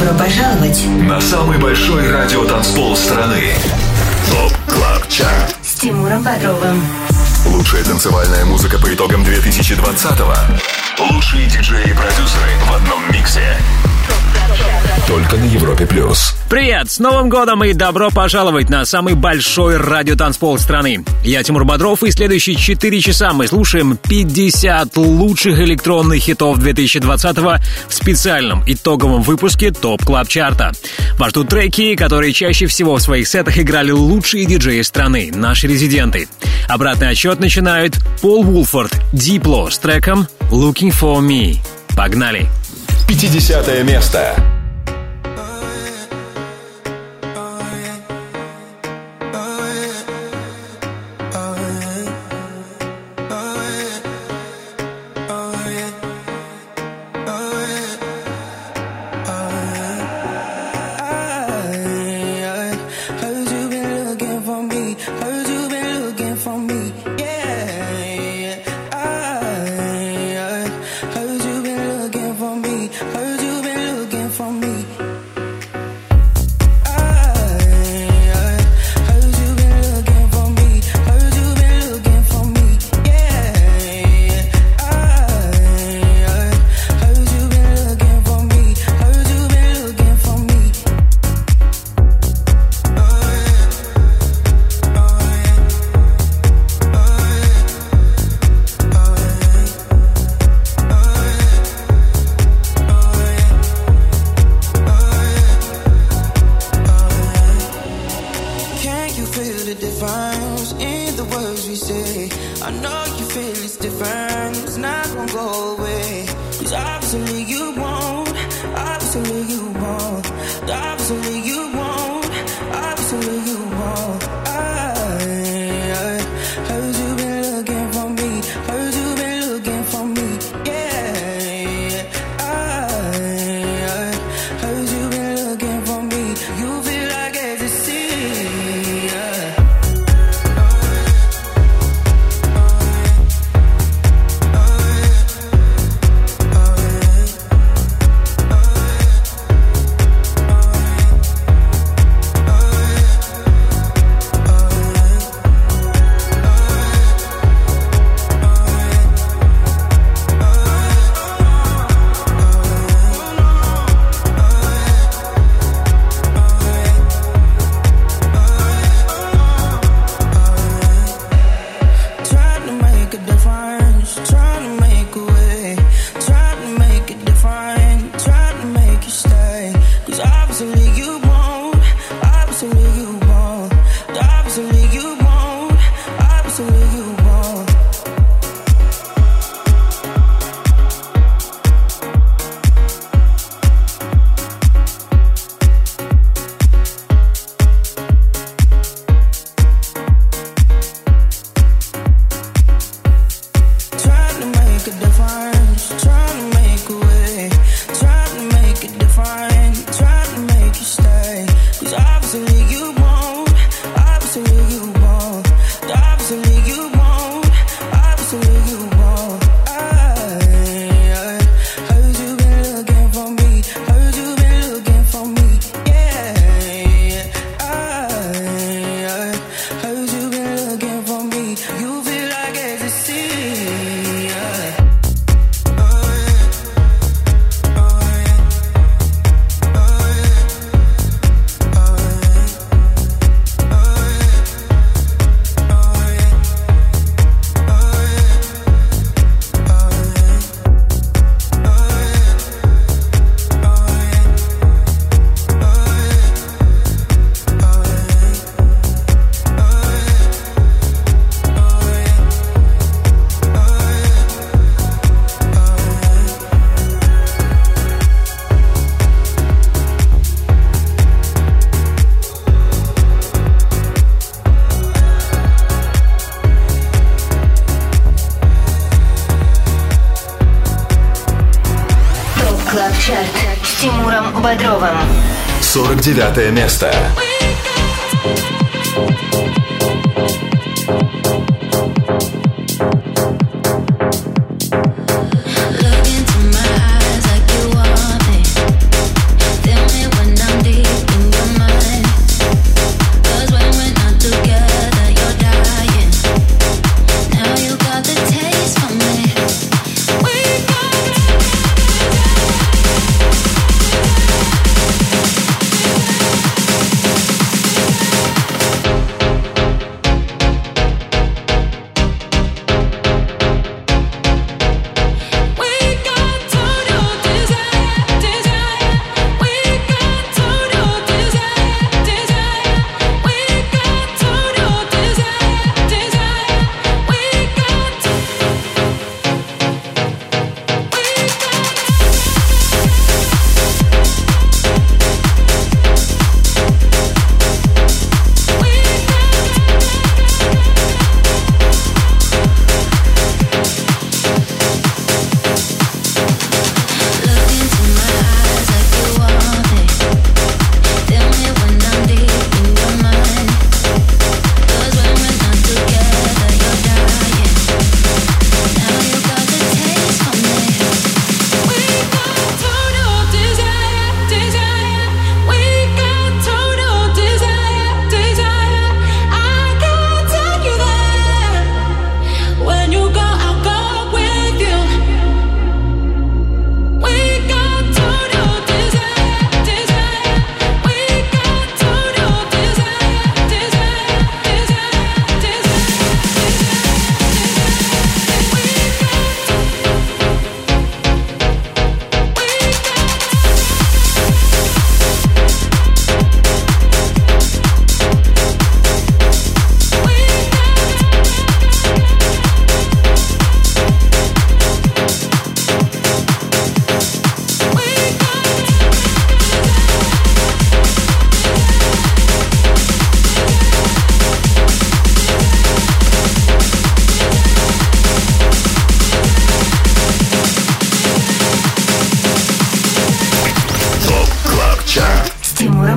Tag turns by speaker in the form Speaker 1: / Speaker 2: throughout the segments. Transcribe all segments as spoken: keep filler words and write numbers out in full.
Speaker 1: Добро пожаловать
Speaker 2: на самый большой радиотанцпол страны. ТОП Клаб Чарт
Speaker 1: с Тимуром Бодровым.
Speaker 2: Лучшая танцевальная музыка по итогам две тысячи двадцатого. Лучшие диджеи и продюсеры в одном миксе. Только на Европе плюс.
Speaker 3: Привет! С Новым годом и добро пожаловать на самый большой радиотанцпол страны. Я Тимур Бодров, и следующие четыре часа мы слушаем пятьдесят лучших электронных хитов две тысячи двадцатого в специальном итоговом выпуске ТОП Клаб Чарта. Вас ждут треки, которые чаще всего в своих сетах играли лучшие диджеи страны, наши резиденты. Обратный отсчет начинают Пол Вулфорд, Дипло с треком «Looking for Me». Погнали!
Speaker 2: пятидесятое место.
Speaker 1: С Тимуром Бодровым.
Speaker 2: сорок девятое место.
Speaker 4: Look into my eyes like you want me. Tell me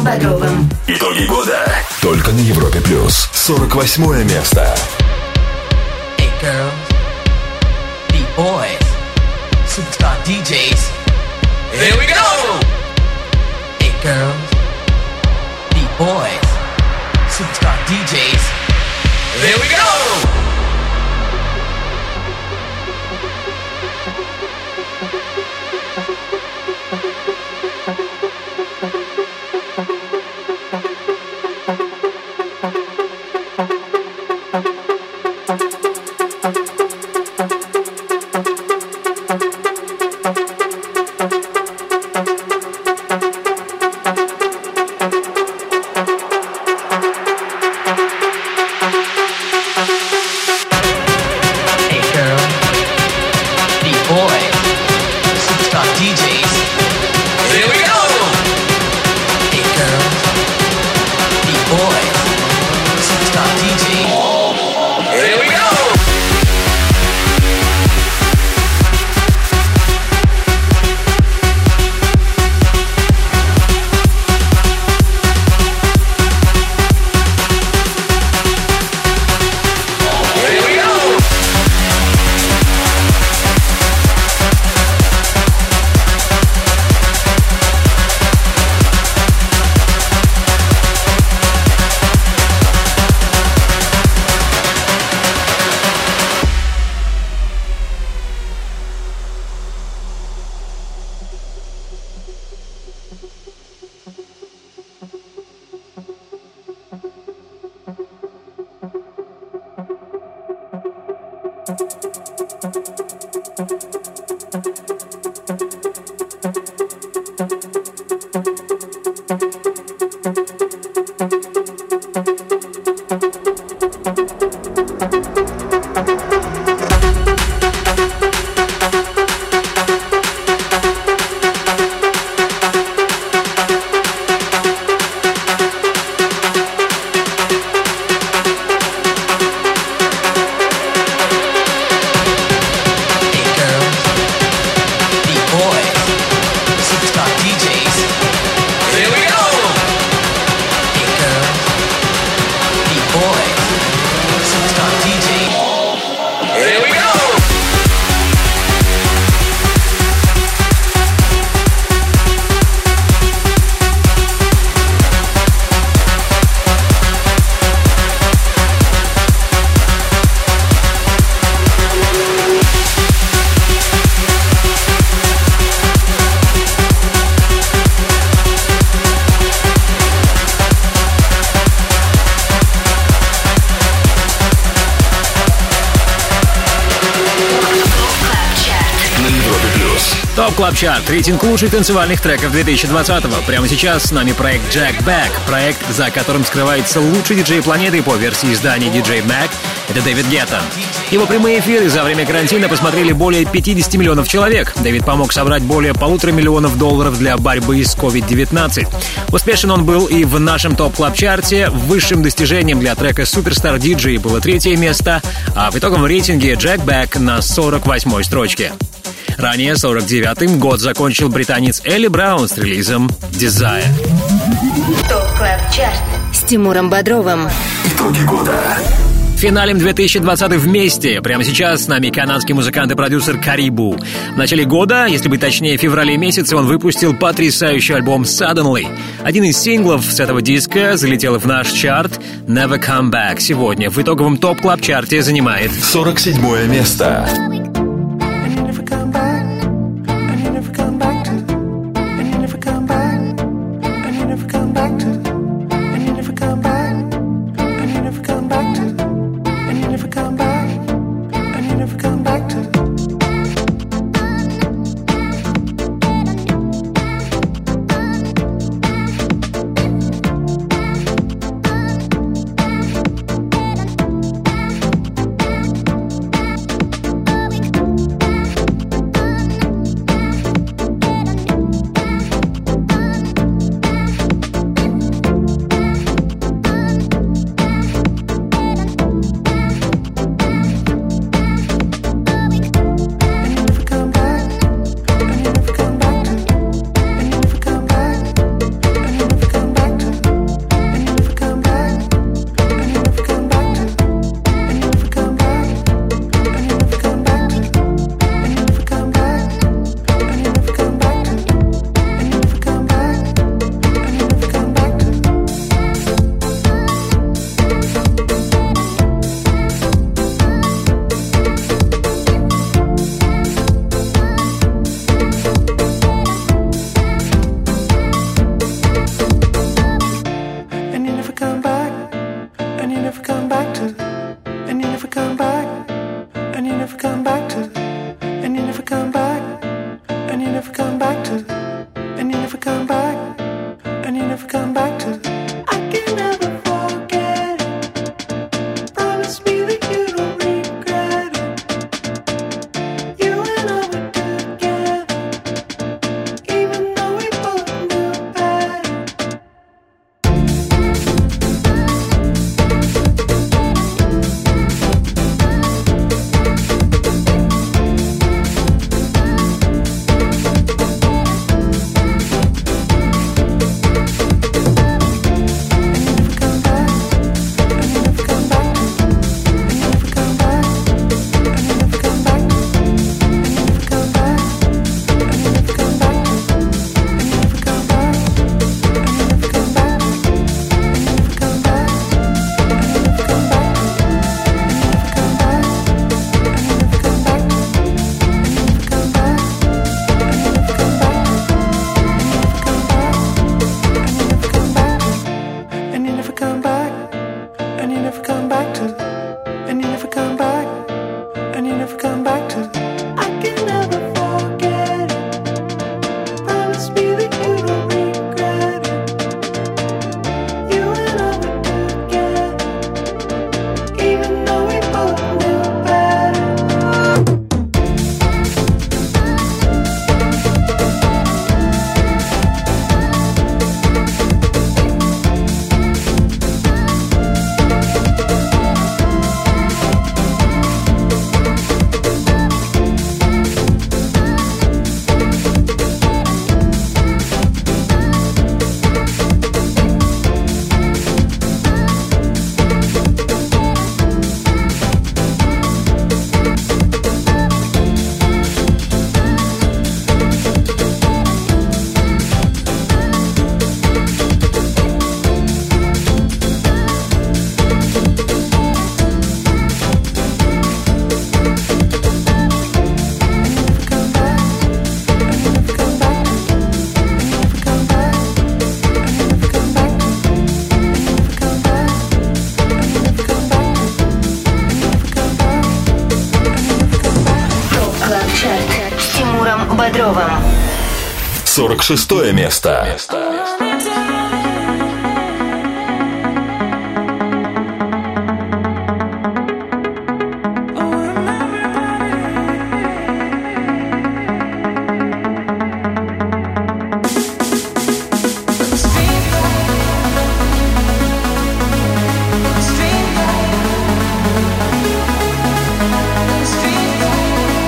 Speaker 1: Бодровым.
Speaker 2: Итоги года только на Европе плюс. сорок восьмое место.
Speaker 4: Hey girls, beat boys, superstar ди джейс. Here we go. Hey girls, beat boys, superstar ди джейс. Here we go.
Speaker 3: Топ Клаб Чарт, рейтинг лучших танцевальных треков две тысячи двадцатого. Прямо сейчас с нами проект Jack Back, проект, за которым скрывается лучший диджей планеты по версии издания ди джей Mag. Это Дэвид Гетта. Его прямые эфиры за время карантина посмотрели более пятьдесят миллионов человек. Дэвид помог собрать более полутора миллионов долларов для борьбы с ковид девятнадцать. Успешен он был и в нашем Топ Клаб Чарте. Высшим достижением для трека Superstar ди джей было третье место, а в итоговом рейтинге Jack Back на сорок восьмой строчке. Ранее, сорок девятым, год закончил британец Элли Браун с релизом Desire.
Speaker 1: Топ Клаб Чарт с Тимуром Бодровым.
Speaker 2: Итоги года.
Speaker 3: Финалем две тысячи двадцатый вместе. Прямо сейчас с нами канадский музыкант и продюсер Карибу. В начале года, если быть точнее, в феврале месяце, он выпустил потрясающий альбом Suddenly. Один из синглов с этого диска залетел в наш чарт Never Come Back. Сегодня в итоговом Топ Клаб Чарте занимает
Speaker 2: сорок седьмое место.
Speaker 1: Бодровым.
Speaker 2: сорок шестое место.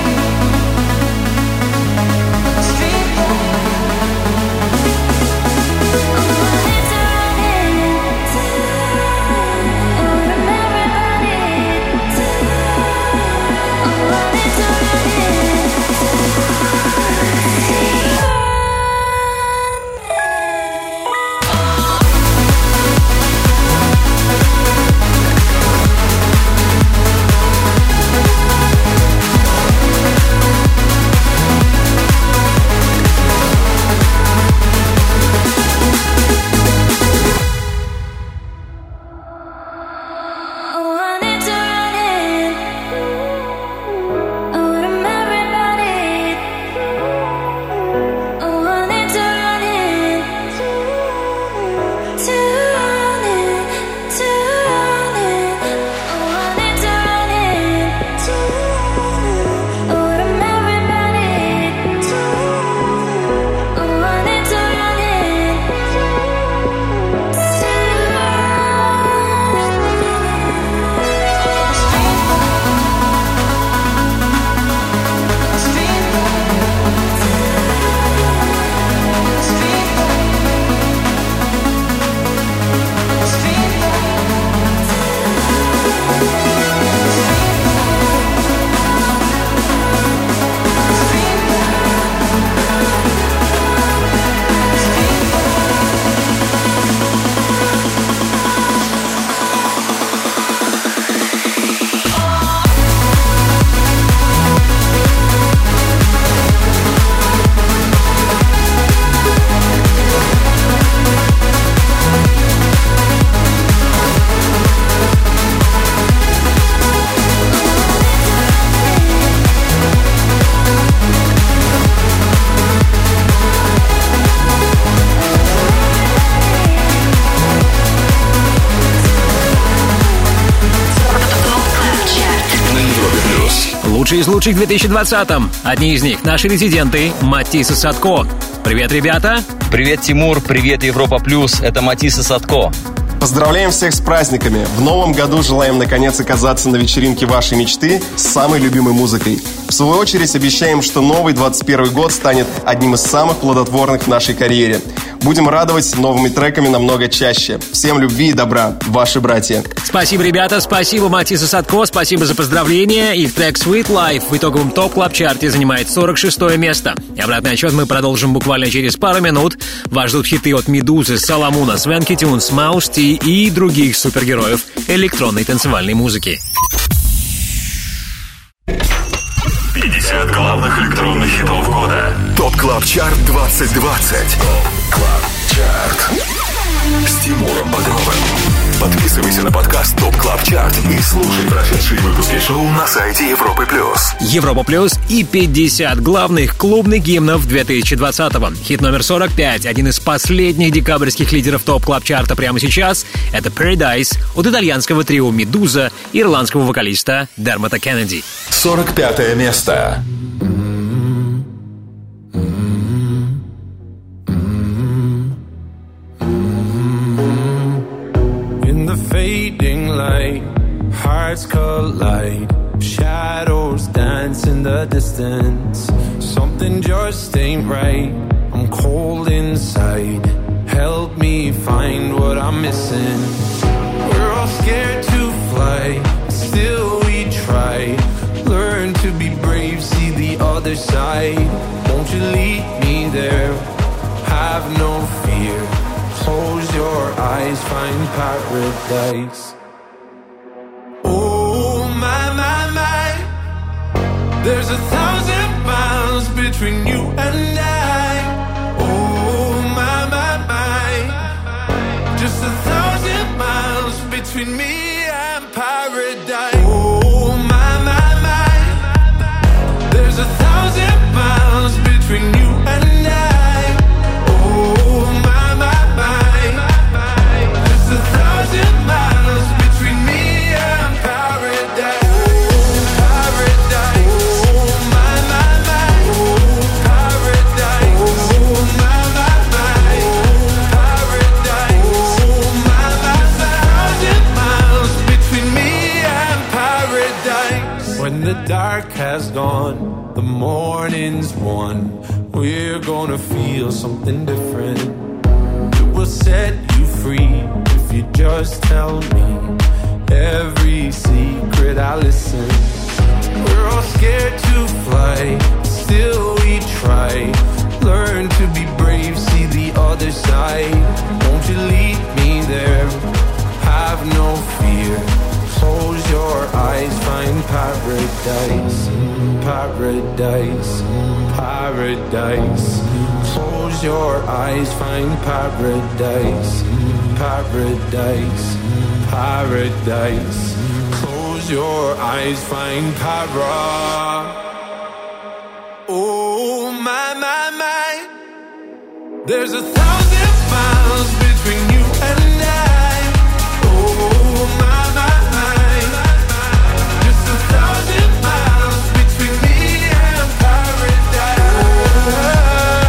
Speaker 5: Street
Speaker 3: Лучшие из лучших в две тысячи двадцатом. Одни из них — наши резиденты Матис и Садко. Привет, ребята!
Speaker 5: Привет, Тимур! Привет, Европа Плюс! Это Матис и Садко.
Speaker 6: Поздравляем всех с праздниками! В новом году желаем наконец оказаться на вечеринке вашей мечты с самой любимой музыкой. В свою очередь обещаем, что новый двадцать первый год станет одним из самых плодотворных в нашей карьере. Будем радовать новыми треками намного чаще. Всем любви и добра, ваши братья.
Speaker 3: Спасибо, ребята, спасибо, Матис и Садко, спасибо за поздравления. Их трек Sweet Life в итоговом топ-клаб-чарте занимает сорок шестое место. И обратный отчет мы продолжим буквально через пару минут. Вас ждут хиты от Медузы, Соломуна, Свенки Тюнс, Маус Ти и других супергероев электронной танцевальной музыки.
Speaker 2: пятьдесят главных электронных хитов года. ТОП Клаб Чарт двадцать двадцать. ТОП Клаб Чарт с Тимуром Бодровым. Подписывайся на подкаст ТОП Клаб Чарт и слушай прошедшие выпуски шоу на сайте Европы Плюс.
Speaker 3: Европа Плюс и пятьдесят главных клубных гимнов две тысячи двадцатого. Хит номер сорок пять, один из последних декабрьских лидеров ТОП Клаб Чарта прямо сейчас. Это Paradise от итальянского трио Медуза и ирландского вокалиста Дермота Кеннеди.
Speaker 2: сорок пятое место.
Speaker 7: Fading light, hearts collide, shadows dance in the distance. Something just ain't right, I'm cold inside. Help me find what I'm missing. We're all scared to fly, still we try. Learn to be brave, see the other side. Won't you lead me there? Have no fear. Close your eyes, find paradise. Oh, my, my, my. There's a thousand miles between you and I. Oh, my, my, my. Just a thousand miles between me and paradise. Oh, my, my, my. There's a thousand miles between you and I. Oh, my. Miles between me and paradise. Oh, paradise. Oh, my, my, my. Oh, paradise. Oh, my, my, my. Oh, paradise. Oh, my, my, my. Thousand miles between me and paradise. When the dark has gone, the morning's won. We're gonna feel something different. It will set you free. You just tell me every secret I listen. We're all scared to fly, still we try. Learn to be brave, see the other side. Won't you lead me there? Have no fear. Close your eyes, find paradise. Paradise, paradise. Close your eyes, find paradise. Paradise, paradise. Close your eyes, find para. Oh, my, my, my. There's a thousand miles between you and I. Oh, my, my, my. Just a thousand miles between me and paradise.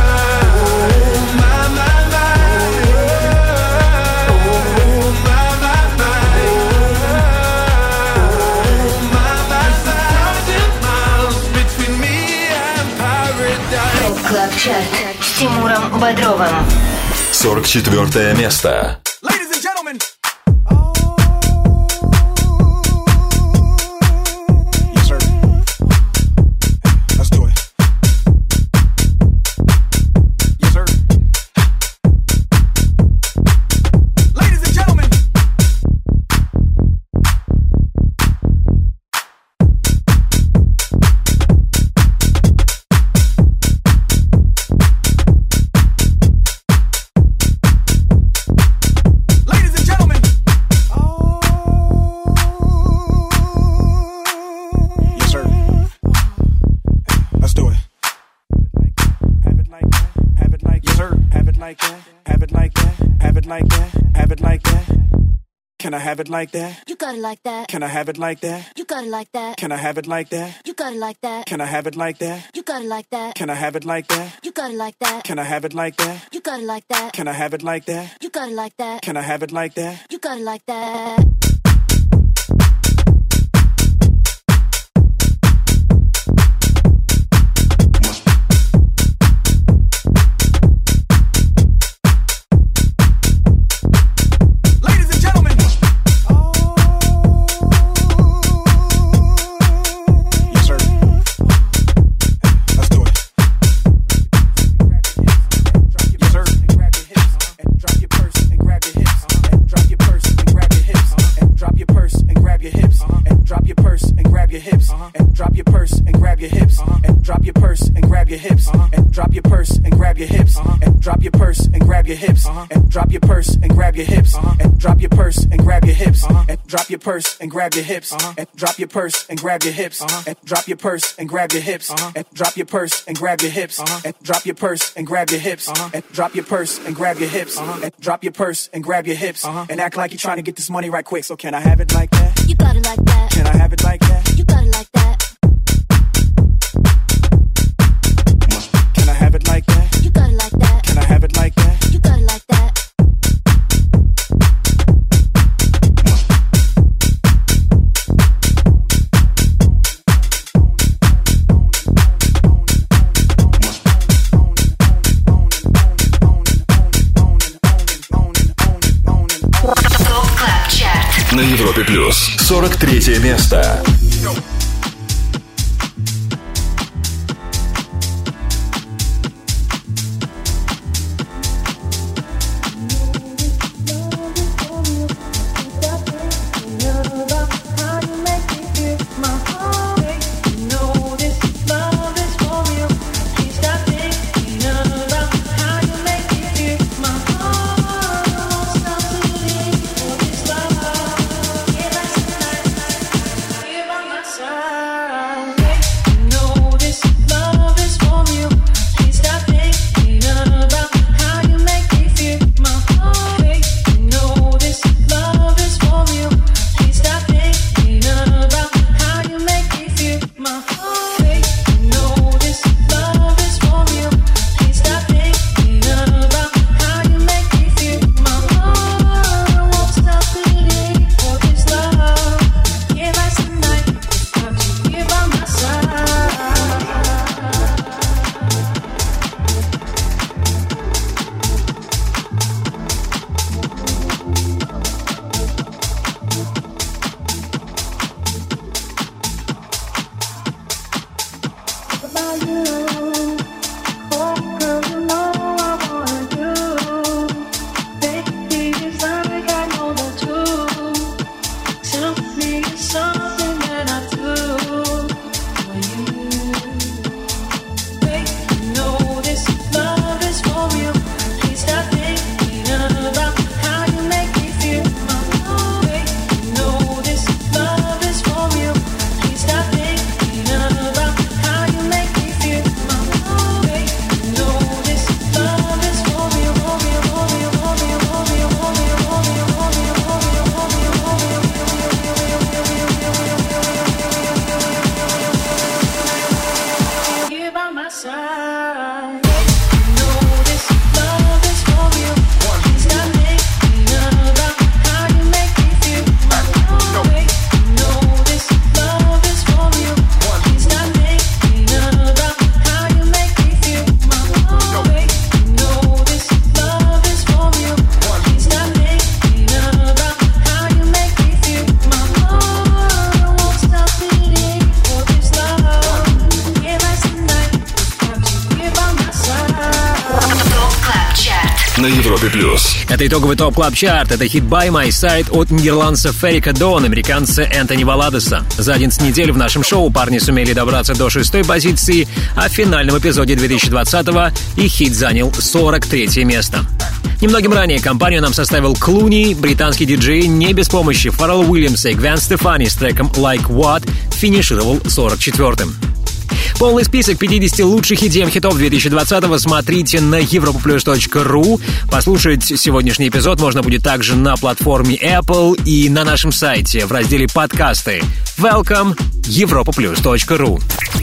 Speaker 1: Клаб-чарт с Тимуром Бодровым.
Speaker 2: сорок четвёртое место.
Speaker 8: Can I have it like that?
Speaker 1: You got it like that.
Speaker 8: Can I have it like that?
Speaker 1: You got it like that.
Speaker 8: Can I have it like that?
Speaker 1: You got
Speaker 8: got it like that.
Speaker 7: Can I have it like that?
Speaker 8: You got it like that.
Speaker 7: Can I have it like that?
Speaker 8: You got it like that.
Speaker 7: Can I have it like that?
Speaker 8: You got it like that.
Speaker 7: Can I have it like that?
Speaker 8: You got it like that.
Speaker 7: Can I have it like that?
Speaker 8: You got it like that.
Speaker 7: Drop your purse and grab your hips, and drop your purse and grab your hips, and drop your purse and grab your hips, and drop your purse and grab your hips, and drop your purse and grab your hips, and drop your purse and grab your hips, and drop your purse and grab your hips, and act like you're trying to get this money right quick. So can I have it like that?
Speaker 8: You got it like that.
Speaker 7: Can I have it like that?
Speaker 8: You got it like that.
Speaker 7: Can I have it like that?
Speaker 8: You got it like that.
Speaker 7: Can I have it like that?
Speaker 8: You got it like that.
Speaker 2: На Европе Плюс сорок третье место. На Европе Плюс.
Speaker 3: Это итоговый топ клаб чарт. Это хит By My Side от нидерландца Феррика Дон, американца Энтони Валадеса. За одиннадцать недель в нашем шоу парни сумели добраться до шестой позиции, а в финальном эпизоде две тысячи двадцатого их хит занял сорок третье место. Немногим ранее компанию нам составил Клуни, британский диджей не без помощи Фаррелла Уильямса и Гвен Стефани с треком Like What финишировал сорок четвёртым. Полный список пятидесяти лучших и ди эм-хитов две тысячи двадцатого смотрите на европа плюс точка ру. Послушать сегодняшний эпизод можно будет также на платформе Apple и на нашем сайте в разделе «Подкасты». Welcome, европа плюс точка ру.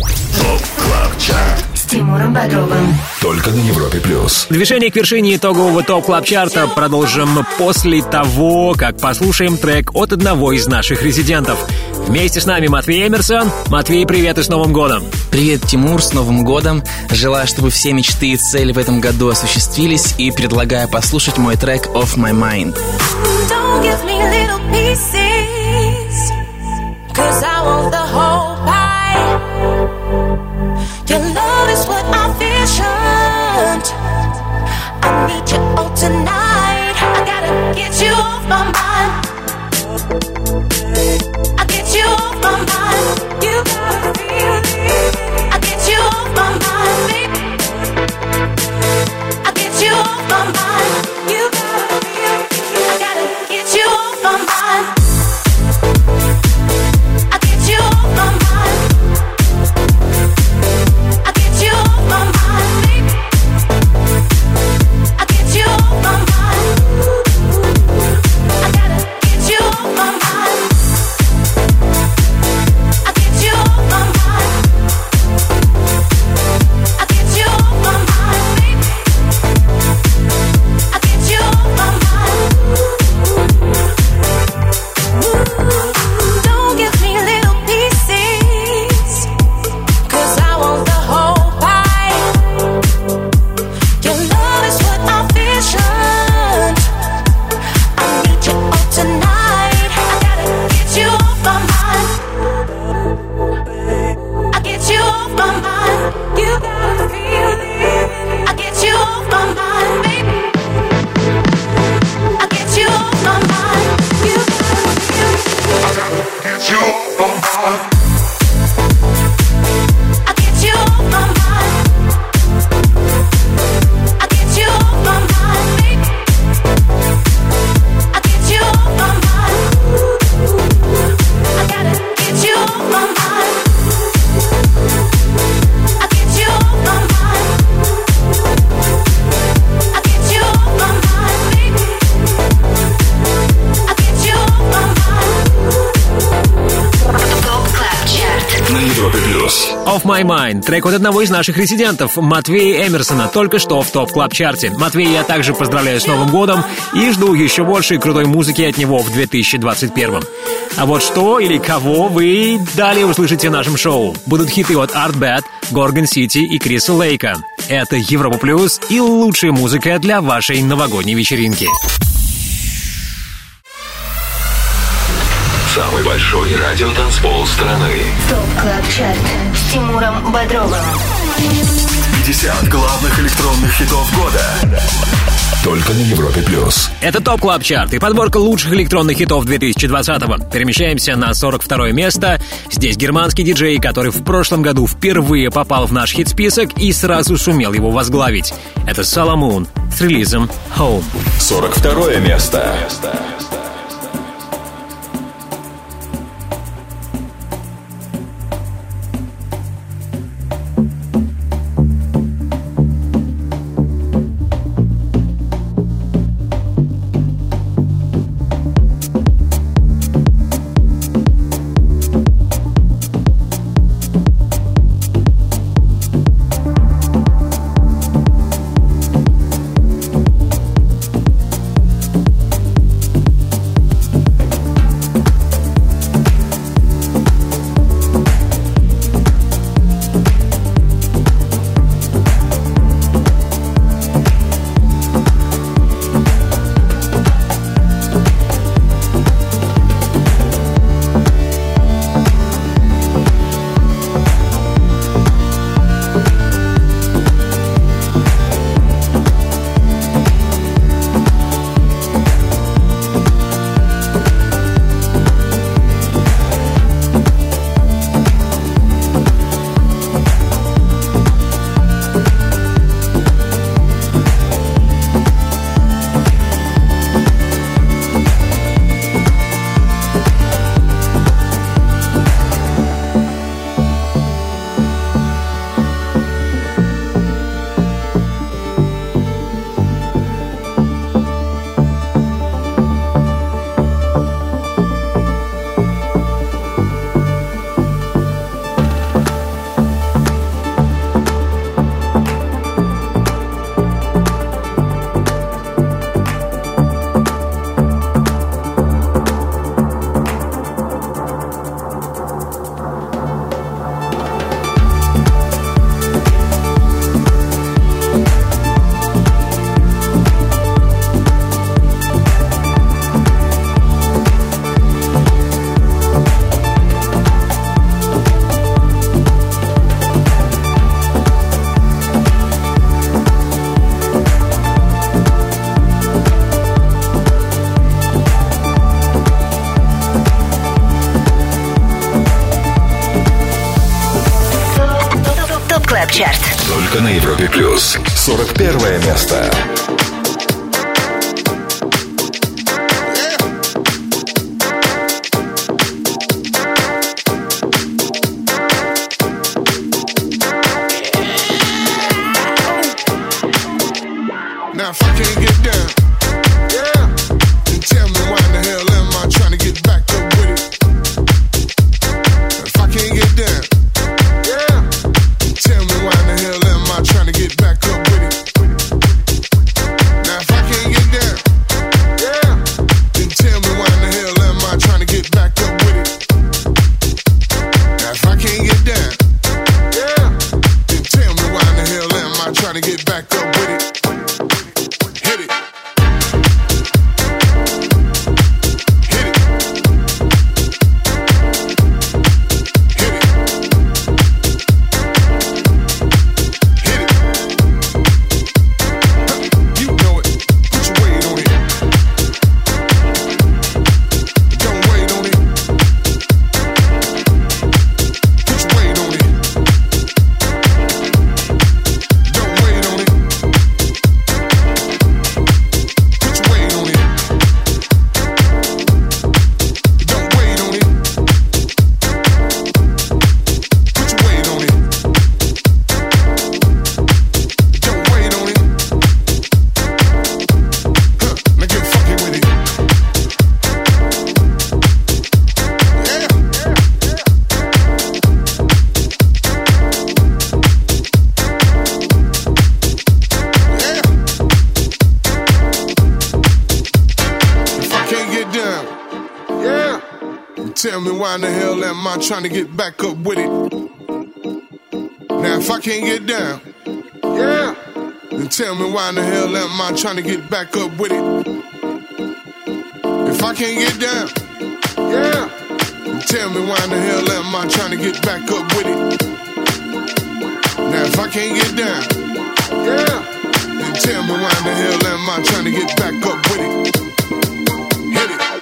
Speaker 1: С Тимуром Бодровым.
Speaker 2: Только на Европе плюс.
Speaker 3: Движение к вершине итогового топ-клаб-чарта продолжим после того, как послушаем трек от одного из наших резидентов. Вместе с нами Матвей Эмерсон. Матвей, привет и с Новым годом!
Speaker 9: Привет, Тимур, с Новым годом! Желаю, чтобы все мечты и цели в этом году осуществились, и предлагаю послушать мой трек «Off My Mind».
Speaker 10: Don't give me little pieces, 'cause I want the whole pie. Your love is what I visioned. I need you all tonight. I gotta get you off my mind. I get you off my mind. You gotta feel it. I get you off my mind, baby. I get you off my mind. You gotta feel it. I gotta get you off my mind. I get you off my mind. I get you off my mind, baby. I get you off my mind. I gotta get you off my mind. I get you off my mind. I get you off my mind, baby. I get you off my mind. Don't give me little pieces, 'cause I want the whole pie. Your love is what I visioned. I need you all tonight. I gotta get you off my mind. I get you off my mind. You gotta feel it. I get you off my mind, baby. I get you off my mind. You gotta feel it. I gotta get you off my mind. I get you off my mind. I get you off my mind, baby. I get you off my mind. I gotta get you off my mind. I get you off my mind. I get you off my mind, baby. I get you off my mind.
Speaker 1: Топ Клаб Чарт.
Speaker 2: На Европе плюс.
Speaker 3: Off My Mind, трек от одного из наших резидентов, Матвея Эмерсона, только что в топ-клаб-чарте. Матвей, я также поздравляю с Новым годом и жду еще больше крутой музыки от него в две тысячи двадцать первом. А вот что или кого вы далее услышите в нашем шоу. Будут хиты от Art Bad, Gorgon City и Криса Лейка. Это Европа Плюс и лучшая музыка для вашей новогодней вечеринки.
Speaker 2: Самый большой радиотанцпол страны.
Speaker 1: ТОП Клаб Чарт с Тимуром Бодровым.
Speaker 2: пятьдесят главных электронных хитов года. Только на Европе плюс.
Speaker 3: Это ТОП Клаб Чарт и подборка лучших электронных хитов две тысячи двадцатого. Перемещаемся на сорок второе место. Здесь германский диджей, который в прошлом году впервые попал в наш хит-список и сразу сумел его возглавить. Это Соломон с релизом Home.
Speaker 2: сорок второе место.
Speaker 1: Чарт.
Speaker 2: Только на Европе плюс. сорок первое место.
Speaker 11: Now if I can't get down, yeah, then tell me why in the hell am I trying to get back up with it? If I can't get down, yeah, then tell me why in the hell am I trying to get back up with it? Now if I can't get down, yeah, then tell me why in the hell am I trying to get back up with it? Now if I can't get down, yeah, then tell me why in the hell am I trying to get back up with it? Tell me why in the hell am I trying to get back up with it? Now if I can't get down, yeah, then tell me why in the hell am I trying to get back up with it? If I can't get down, yeah, then tell me why in the hell am I trying to get back up with it? Now if I can't get down, yeah, then tell me why in the hell am I trying to get back up with it? Hit it.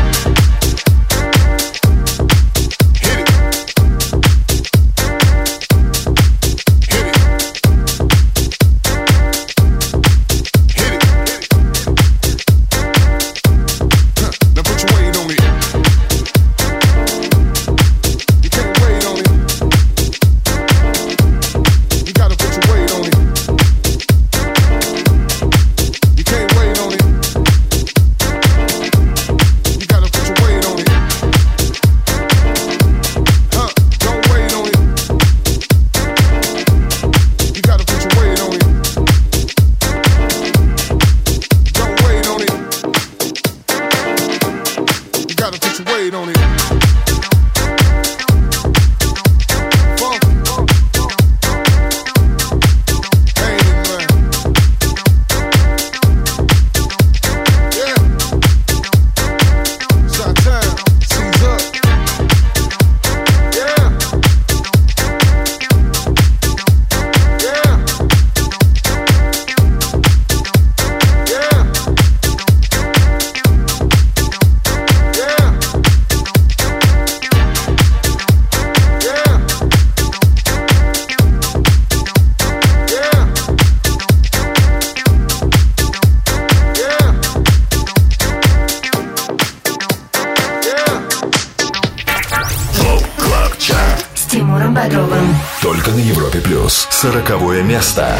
Speaker 2: Только на Европе плюс. Сороковое место.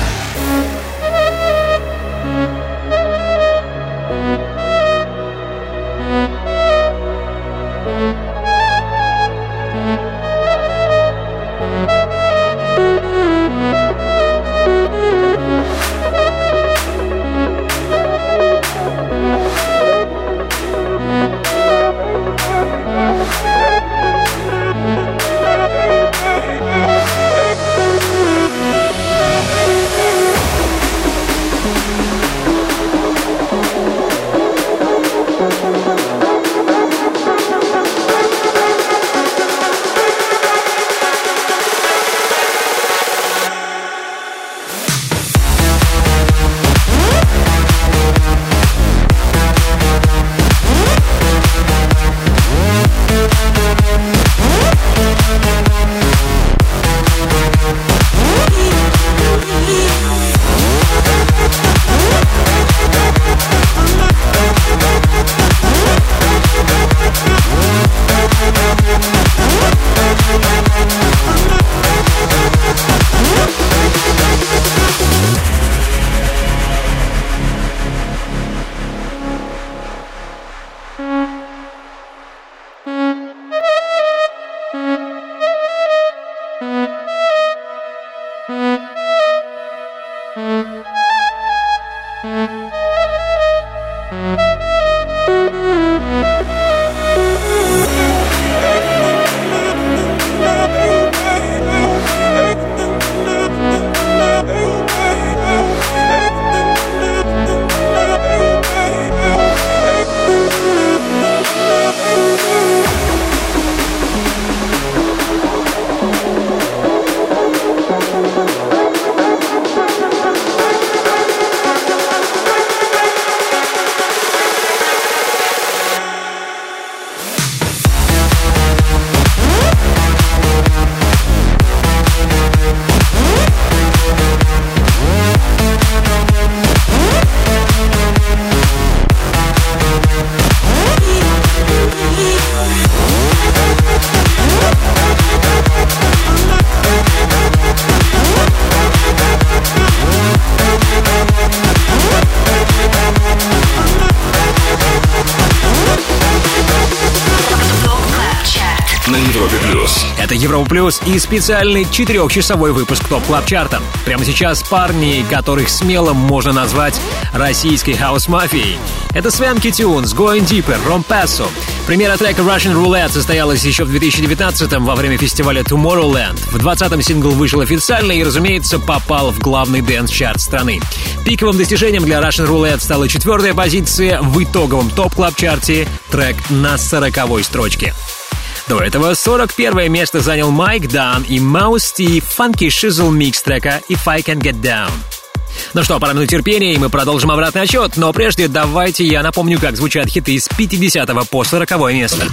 Speaker 3: Это Европа Плюс и специальный четырехчасовой выпуск ТОП Клаб Чарта. Прямо сейчас парни, которых смело можно назвать российской хаус-мафией. Это Swanky Tunes, Going Deeper, Rompasso. Премьера трека Russian Roulette состоялась еще в две тысячи девятнадцатом во время фестиваля Tomorrowland. В двадцатом сингл вышел официально и, разумеется, попал в главный дэнс-чарт страны. Пиковым достижением для Russian Roulette стала четвертая позиция в итоговом ТОП Клаб Чарте, трек на сороковой строчке. До этого сорок первое место занял Майк Дан и Mouse T Funky Shizzle микс трека If I Can Get Down. Ну что, пора минут терпения, и мы продолжим обратный отсчет, но прежде давайте я напомню, как звучат хиты с пятидесятого по сороковое место.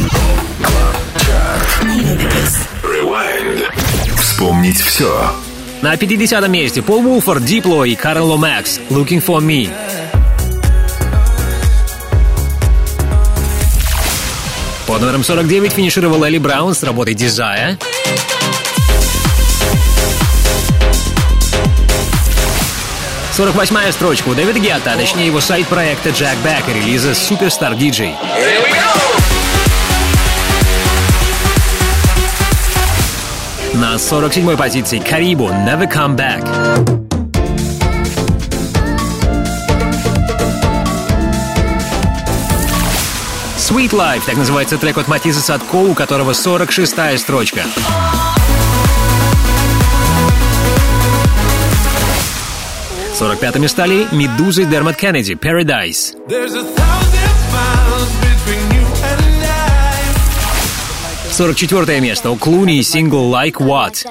Speaker 2: Вспомнить все.
Speaker 3: На пятидесятом месте Пол Вулфорд, Дипло и Карен Ломакс Looking For Me. Под номером сорок девять финишировал Элли Браун с работой Desire. сорок восьмая строчка у Дэвида Гетта, а точнее его сайт-проекта Jack Back и релиза Superstar ди джей. На сорок седьмой позиции Карибу Never Come Back. Sweet Life, так называется трек от Матисса Садко, у которого сорок шестая строчка. сорок пятыми стали Медуза и Дермот Кеннеди Paradise. сорок четвёртое место у Клуни и сингл Like What.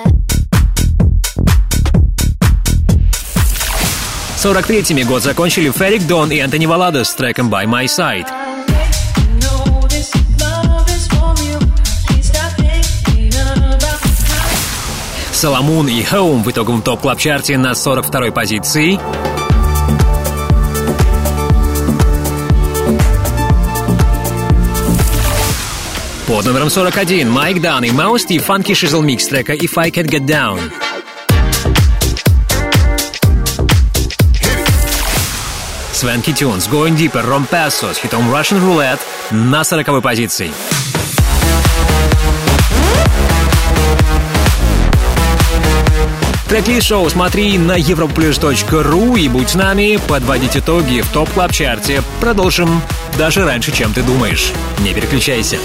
Speaker 3: сорок третьими год закончили Ферик Дон и Антони Валадос с треком By My Side. Соломон и Home в итоговом топ-клаб-чарте на сорок второй позиции. Под номером сорок один Майк Дан и Mouse T Funky Shizzle микс трека If I Can Get Down. Swanky Tunes, Going Deeper, Rompasso с хитом Russian Roulette на сороковой позиции. Трек-лист шоу смотри на европлюс точка ру и будь с нами, подводить итоги в ТОП Клаб Чарте. Продолжим даже раньше, чем ты думаешь. Не переключайся.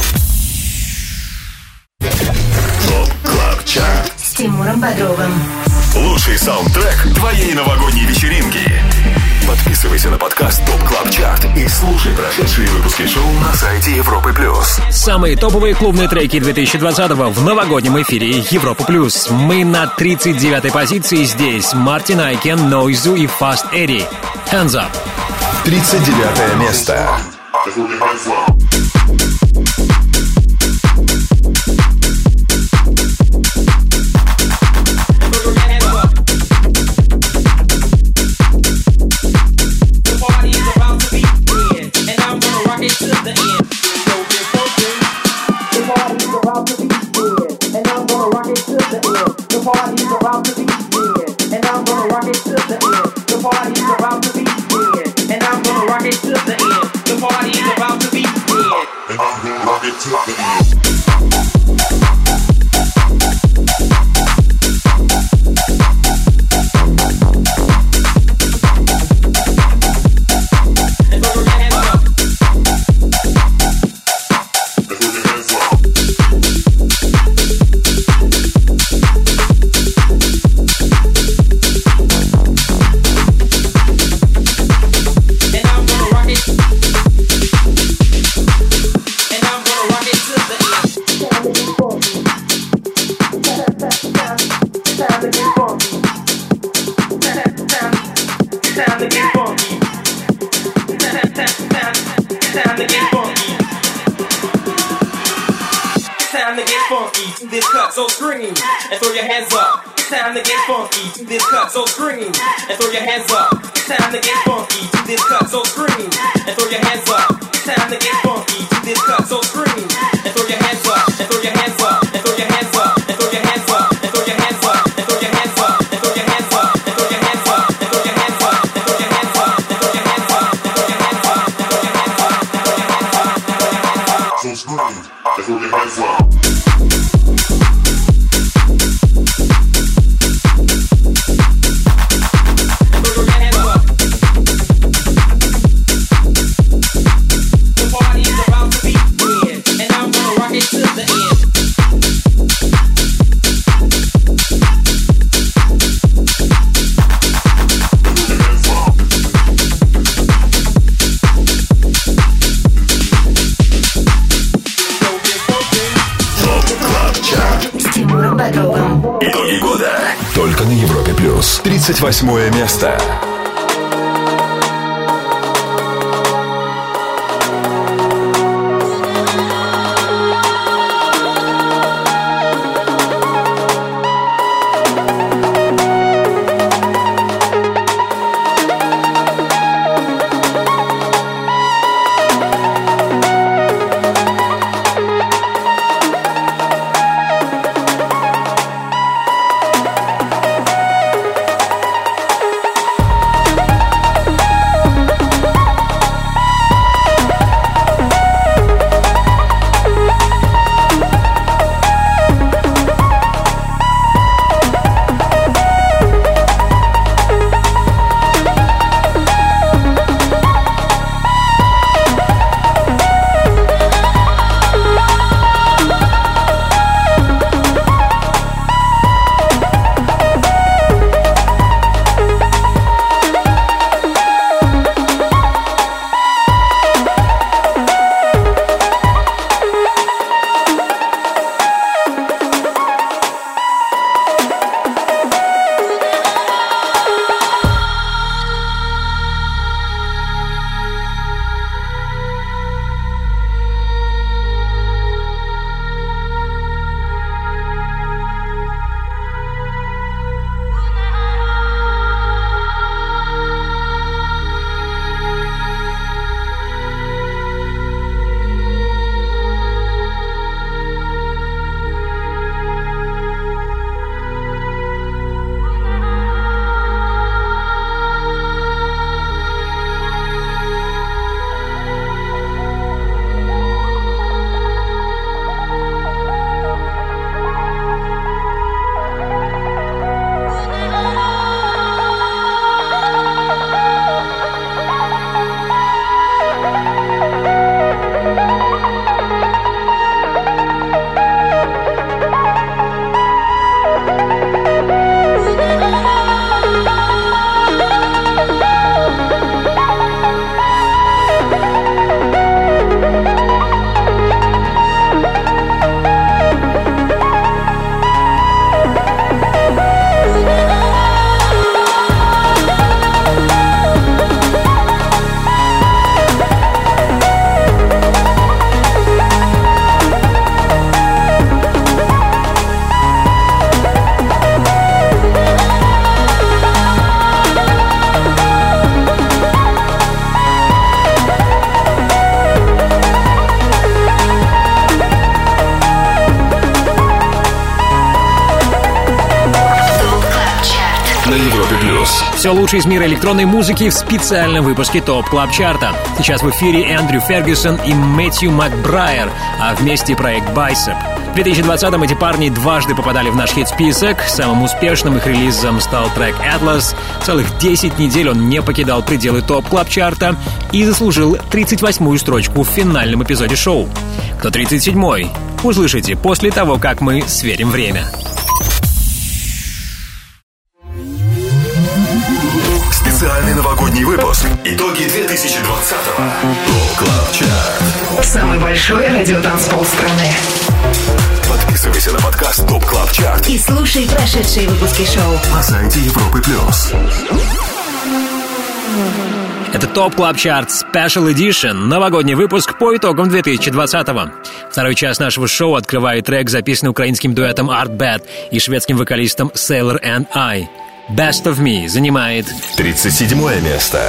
Speaker 2: ТОП Клаб Чарт
Speaker 1: с Тимуром Бодровым.
Speaker 2: Лучший саундтрек твоей новогодней вечеринки. Подписывайся на подкаст ТОП Клаб Чарт и слушай прошедшие выпуски шоу на сайте Европы Плюс.
Speaker 3: Самые топовые клубные треки две тысячи двадцатого в новогоднем эфире Европа Плюс. Мы на тридцать девятой позиции здесь. Мартин Айкен, Нойзу и Fast Eddie. Hands Up.
Speaker 2: тридцать девятое место.
Speaker 12: time to get funky. Time, time, time, time to get funky. Time to get funky to this cut, so scream and throw your hands up. Time to get funky to this cut, so scream and throw your hands up. Time to get funky to this cut, so scream and throw your hands up. Time to get funky to this cut, so scream and throw your hands up, and throw your hands up, and throw your hands up, and throw your hands up, and throw your hands up, and throw your hands up, and throw your hands up, and throw your hands up, and throw your hands up, and throw your hands up, and throw your hands up, and throw your hands up, and throw your hands up, and throw your hands up, and throw your hands up. So scream and throw your hands up.
Speaker 2: Итоги года. Только на Европе плюс. тридцать восьмое место.
Speaker 3: Все лучшее из мира электронной музыки в специальном выпуске ТОП Клаб Чарта. Сейчас в эфире Эндрю Фергюсон и Мэтью Макбрайер, а вместе проект Bicep. В две тысячи двадцатом эти парни дважды попадали в наш хит-список. Самым успешным их релизом стал трек Atlas. Целых десять недель он не покидал пределы ТОП Клаб Чарта и заслужил тридцать восьмую строчку в финальном эпизоде шоу. Кто тридцать седьмой? Услышите после того, как мы сверим время.
Speaker 2: Специальный новогодний выпуск. Итоги две тысячи двадцатого. ТОП Клаб Чарт.
Speaker 1: Самый большой радиотанцпол страны.
Speaker 2: Подписывайся на подкаст ТОП Клаб Чарт
Speaker 1: И слушай прошедшие выпуски шоу
Speaker 2: на сайте Европы Плюс.
Speaker 3: Это ТОП Клаб Чарт Special Edition, новогодний выпуск по итогам две тысячи двадцатого. Второй час нашего шоу открывает трек, записанный украинским дуэтом Art Bad и шведским вокалистом Sailor and I. Best of Me занимает
Speaker 2: тридцать седьмое место.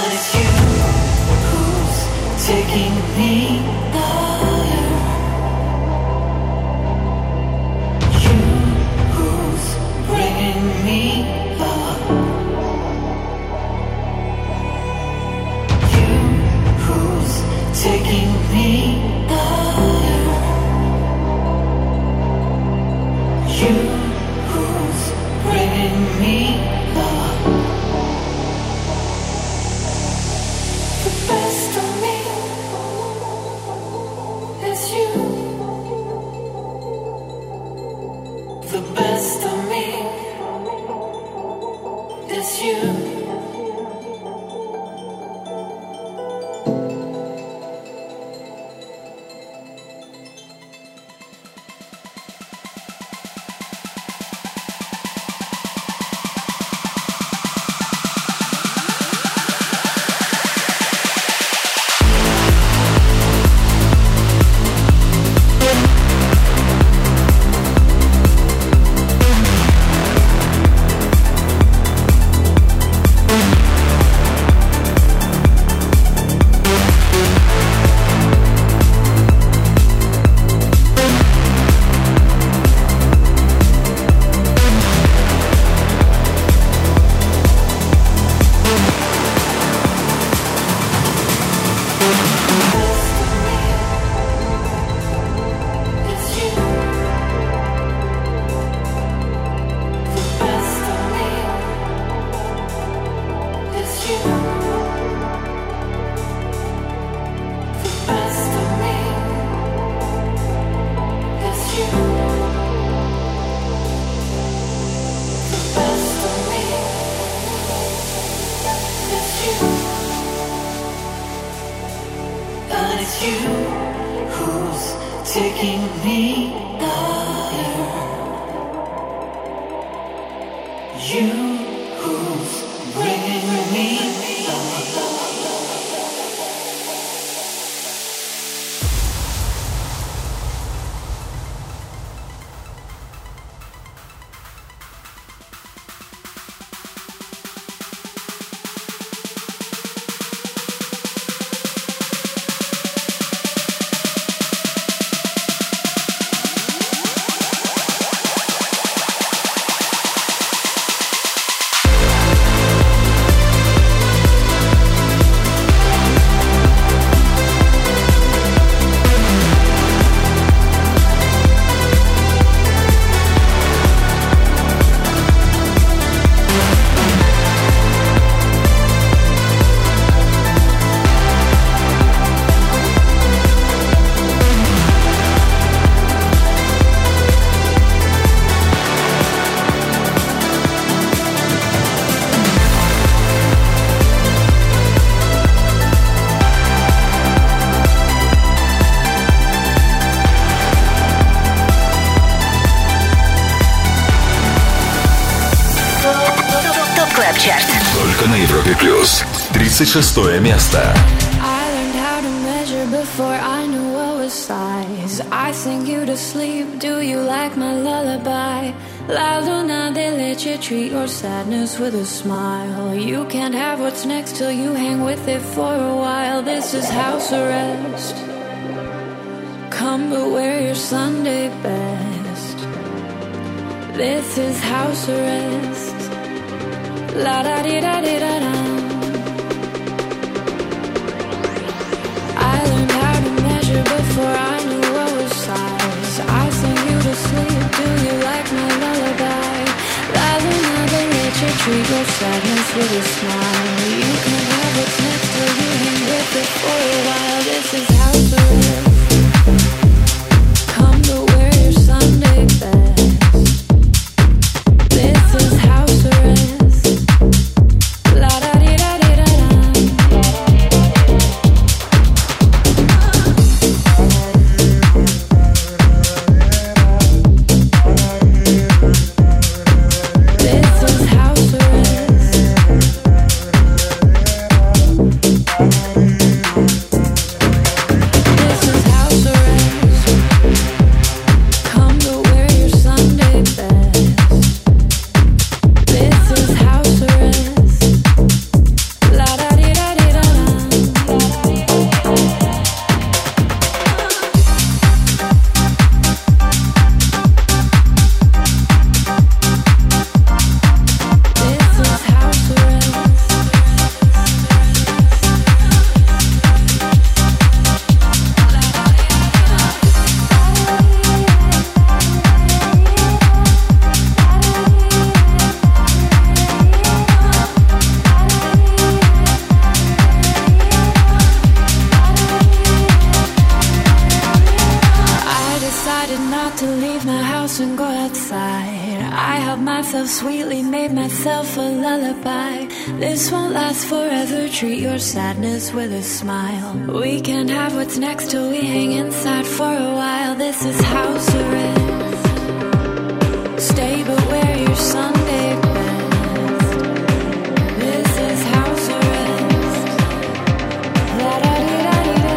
Speaker 13: Taking me higher. You who's bringing me up. The best of me is you. The best of me is you.
Speaker 2: Только на Европе Плюс. тридцать шестое место.
Speaker 14: I learned how to measure before I knew what was size. I sing you to sleep. Do you like my lullaby? La luna de leche, treat your sadness with a smile. You can't have what's next till you hang with it for a while. This is house arrest. Come but wear your Sunday best. This is house arrest. La da di da di da da. I learned how to measure before I knew what was size. I sing you to sleep. Do you like my lullaby? La luna de leche, treat your sadness with a smile. You can have what's next till you hang with it for a while. This is house arrest. Come to wear your Sunday best. This is house arrest.
Speaker 13: This is house arrest.
Speaker 14: myself sweetly, made myself a lullaby. This won't last forever, treat your sadness with a smile. We can't have what's next till we hang inside for a while. This is house arrest. Stay but wear your Sunday best. This is house arrest. La-da-dee-da-dee-da.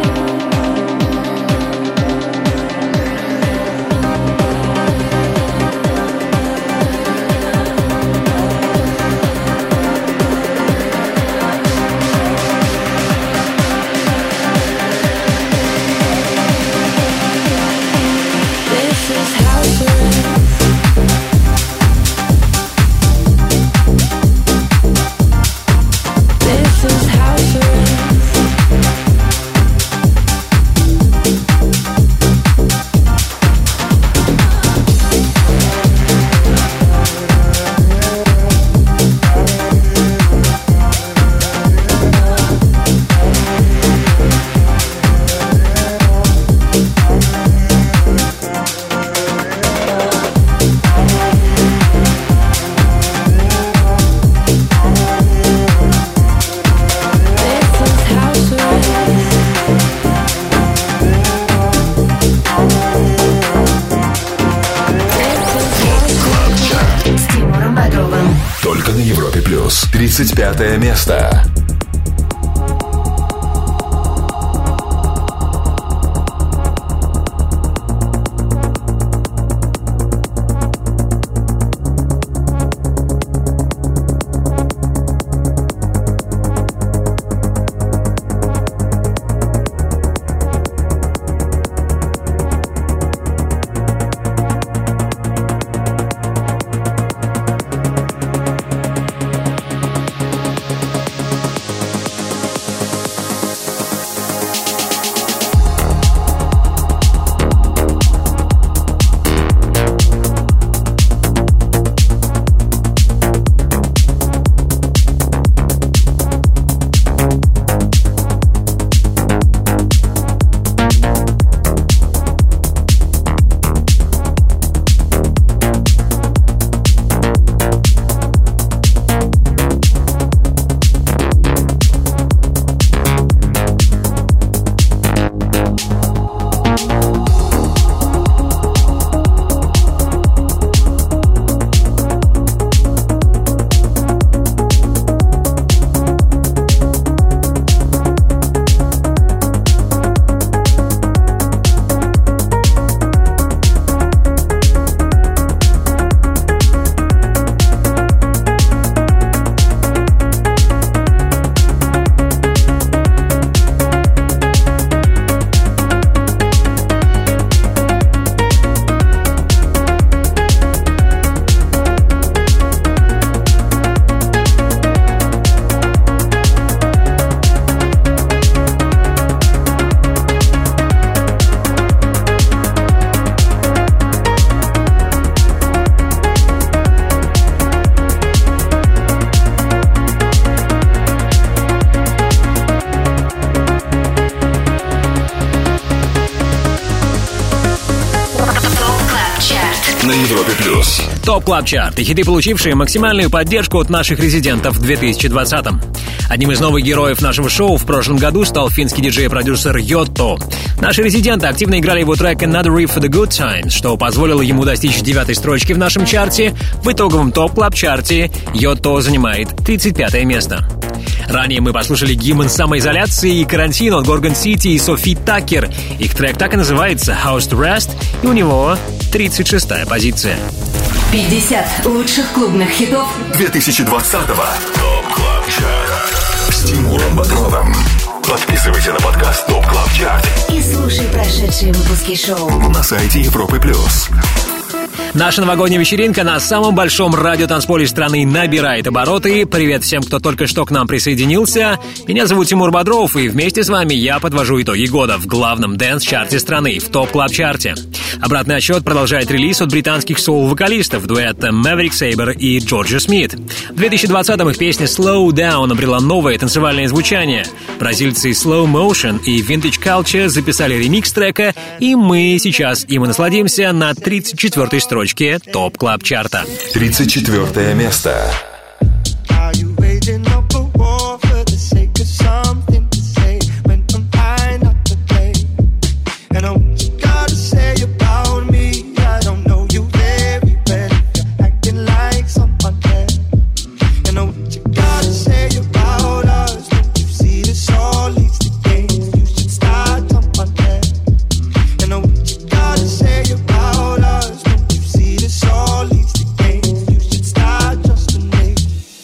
Speaker 14: This is house arrest. This is house arrest.
Speaker 1: С Тимуром Бодровым.
Speaker 2: Только на Европе плюс. тридцать пятое место. На Европе плюс.
Speaker 3: Топ Клаб Чарт и хиты, получившие максимальную поддержку от наших резидентов в две тысячи двадцатом. Одним из новых героев нашего шоу в прошлом году стал финский диджей и продюсер Йотто. Наши резиденты активно играли его трек Another Reef for the Good Times, что позволило ему достичь девятой строчки в нашем чарте. В итоговом Топ Клаб Чарте Йотто занимает тридцать пятое место. Ранее мы послушали гимн самоизоляции и карантина от Gorgon City и Софи Такер. Их трек так и называется House to Rest, и у него тридцать шестая позиция.
Speaker 1: пятьдесят лучших клубных хитов
Speaker 2: две тысячи двадцатого. Топ Клаб Чарт с Тимуром Бодровым. Подписывайся на подкаст Топ Клаб Чарт
Speaker 1: и слушай прошедшие выпуски шоу
Speaker 2: на сайте Европы плюс.
Speaker 3: Наша новогодняя вечеринка на самом большом радиотанцполе страны набирает обороты. Привет всем, кто только что к нам присоединился. Меня зовут Тимур Бодров, и вместе с вами я подвожу итоги года в главном дэнс-чарте страны, в топ-клаб-чарте. Обратный отсчет продолжает релиз от британских соул-вокалистов дуэта Maverick Sabre и Джорджа Смит. В две тысячи двадцатом их песня Slow Down обрела новое танцевальное звучание. Бразильцы Slow Motion и Vintage Culture записали ремикс трека, и мы сейчас им и насладимся на тридцать четвёртой строчке строчке ТОП Клаб Чарта.
Speaker 2: тридцать четвёртое место.
Speaker 15: Are you waging up a war for the sake of something to say when I'm fine not to play? And I what you gotta say about me? I don't know you very well. You're acting like someone else. And I what you gotta say about us? Don't you see this all leads to games? You should start someone else. And I what you gotta say about us? Don't you see this all leads to games? You should start trusting me.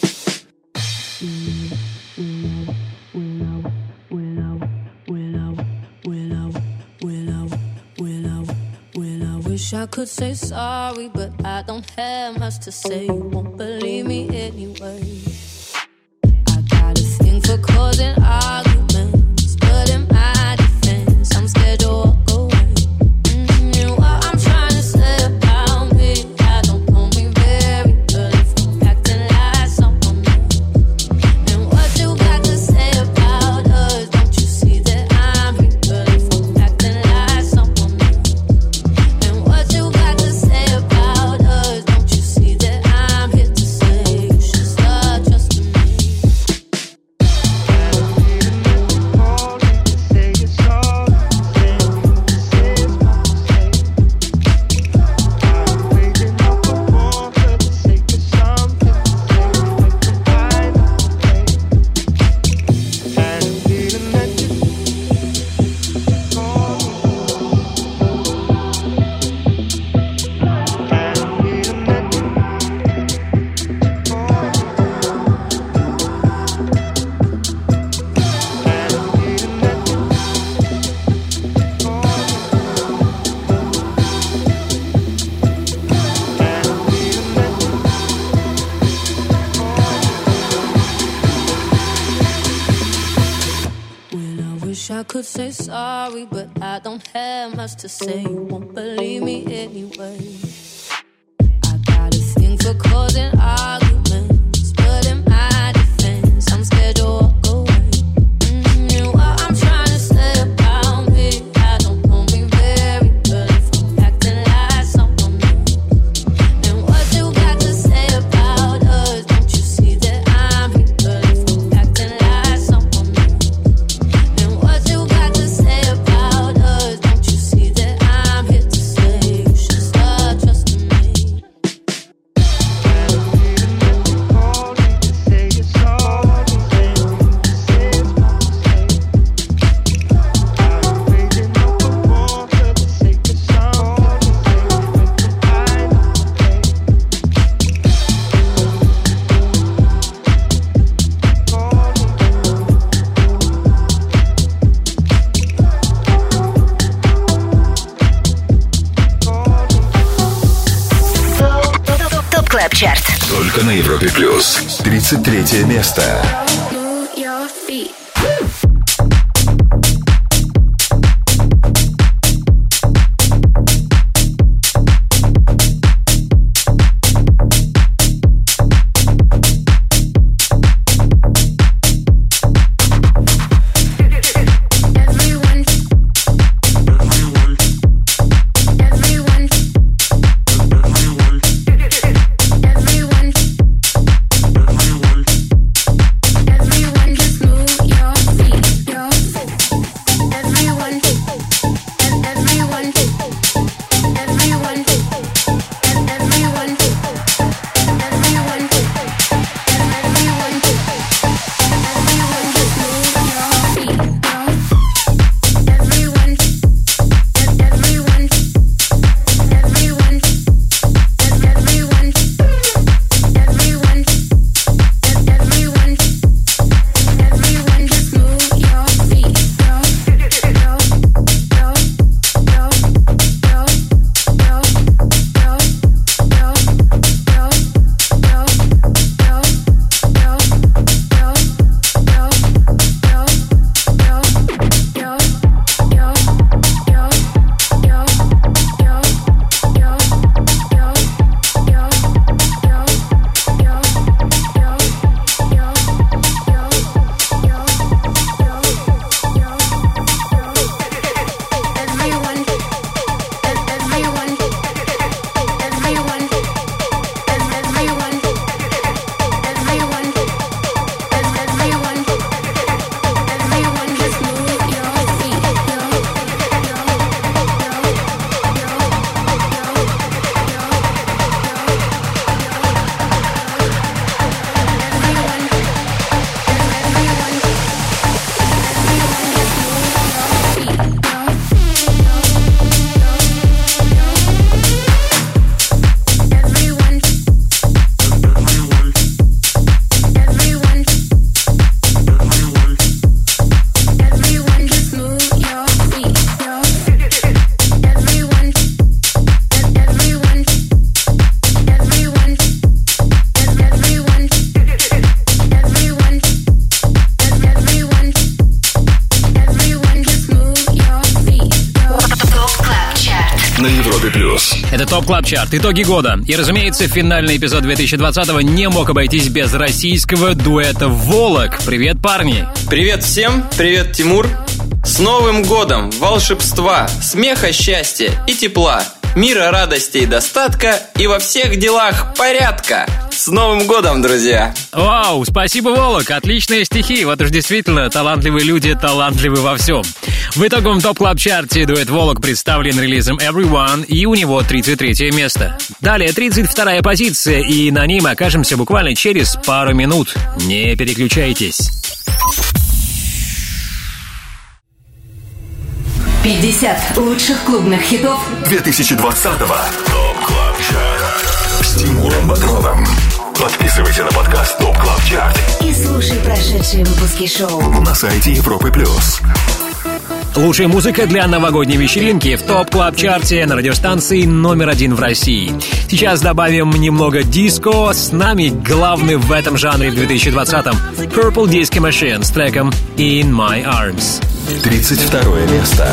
Speaker 14: Wish I could say sorry, but I don't have much to say. You won't believe me anyway. I got a thing for causing arguments, but in my defense, I'm scared to walk away. Mm, and what I'm trying to say about me, I don't know me very well. If I'm acting like someone else, and what you got to say about us? Don't you see that I'm real? If I'm acting like someone else, and what you got to say about us? Don't you see that I'm here to say you should start trusting me? Wish I could say sorry, but I don't have much to say. You won't believe me anyway. I got a thing for causing arguments, but in my defense, I'm scared to walk away. Mm, and what I'm trying to say about me, I don't know me very well. If I'm acting like someone else, and what you got to say about us? Don't you see that I'm real? If I'm acting like someone else, and what you got to say about us? Don't you see that I'm here to say you should start trusting me?
Speaker 1: ТОП Клаб Чарт.
Speaker 2: Только на Европе Плюс. тридцать третье место.
Speaker 14: Move your feet. Everyone, everyone, everyone, everyone, just move
Speaker 3: Это ТОП Клаб Чарт, итоги года. И, разумеется, финальный эпизод две тысячи двадцатого не мог обойтись без российского дуэта «Волок». Привет, парни!
Speaker 16: Привет всем, привет, Тимур. С Новым годом, волшебства, смеха, счастья и тепла, мира, радости и достатка, и во всех делах порядка. С Новым годом, друзья!
Speaker 3: Вау, спасибо, Волок, отличные стихи. Вот уж действительно, талантливые люди талантливы во всем. В итоговом ТОП Клаб Чарте дуэт «Волок» представлен релизом «Everyone», и у него тридцать третье место. Далее тридцать вторая позиция, и на ней мы окажемся буквально через пару минут. Не переключайтесь.
Speaker 1: пятьдесят лучших клубных хитов
Speaker 2: две тысячи двадцатого. ТОП Клаб Чарт с Тимуром Бодровым. Подписывайся на подкаст ТОП Клаб Чарт
Speaker 1: и слушай прошедшие выпуски шоу
Speaker 2: на сайте Европы Плюс.
Speaker 3: Лучшая музыка для новогодней вечеринки в ТОП Клаб Чарте на радиостанции номер один в России. Сейчас добавим немного диско. С нами главный в этом жанре в две тысячи двадцатом Purple Disco Machine с треком In My Arms.
Speaker 2: тридцать второе место.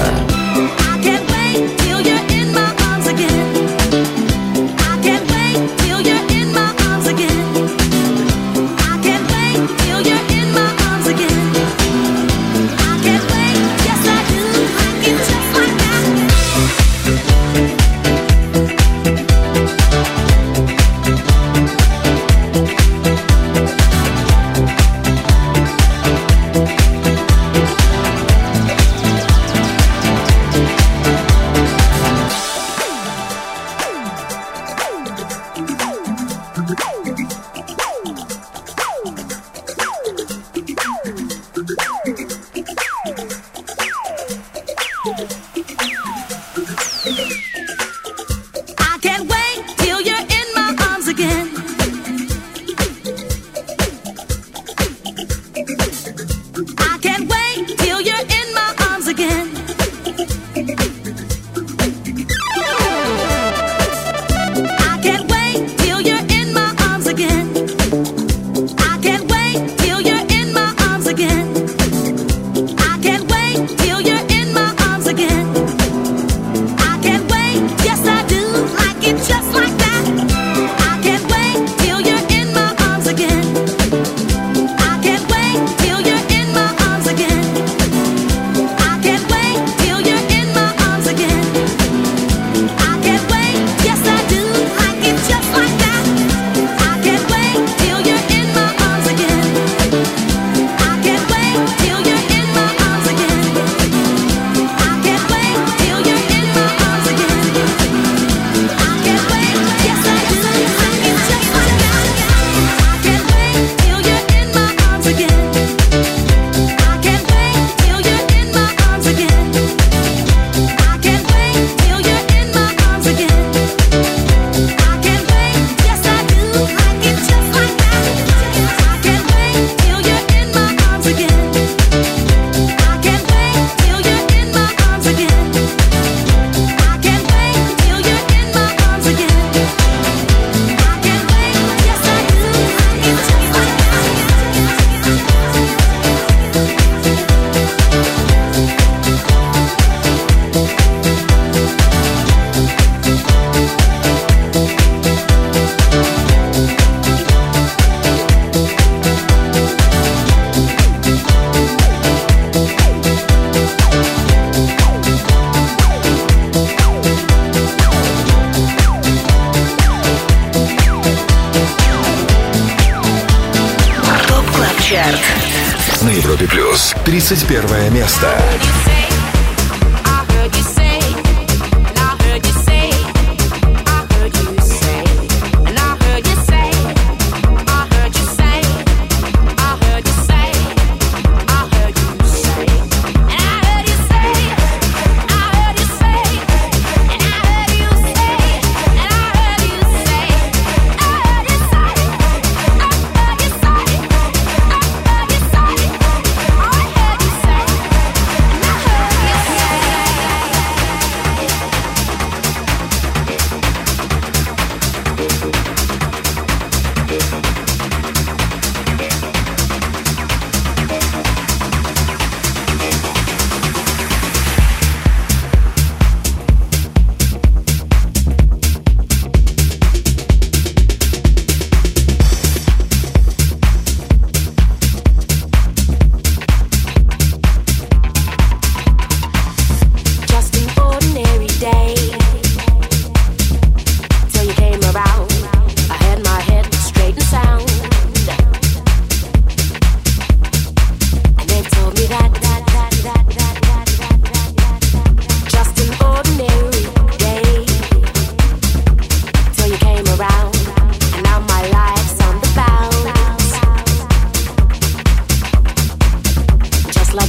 Speaker 2: На Европе Плюс тридцать первое место.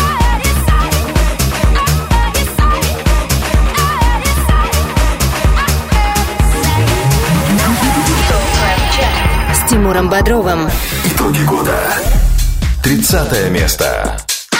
Speaker 1: С Тимуром Бодровым.
Speaker 2: Итоги года. тридцатое место.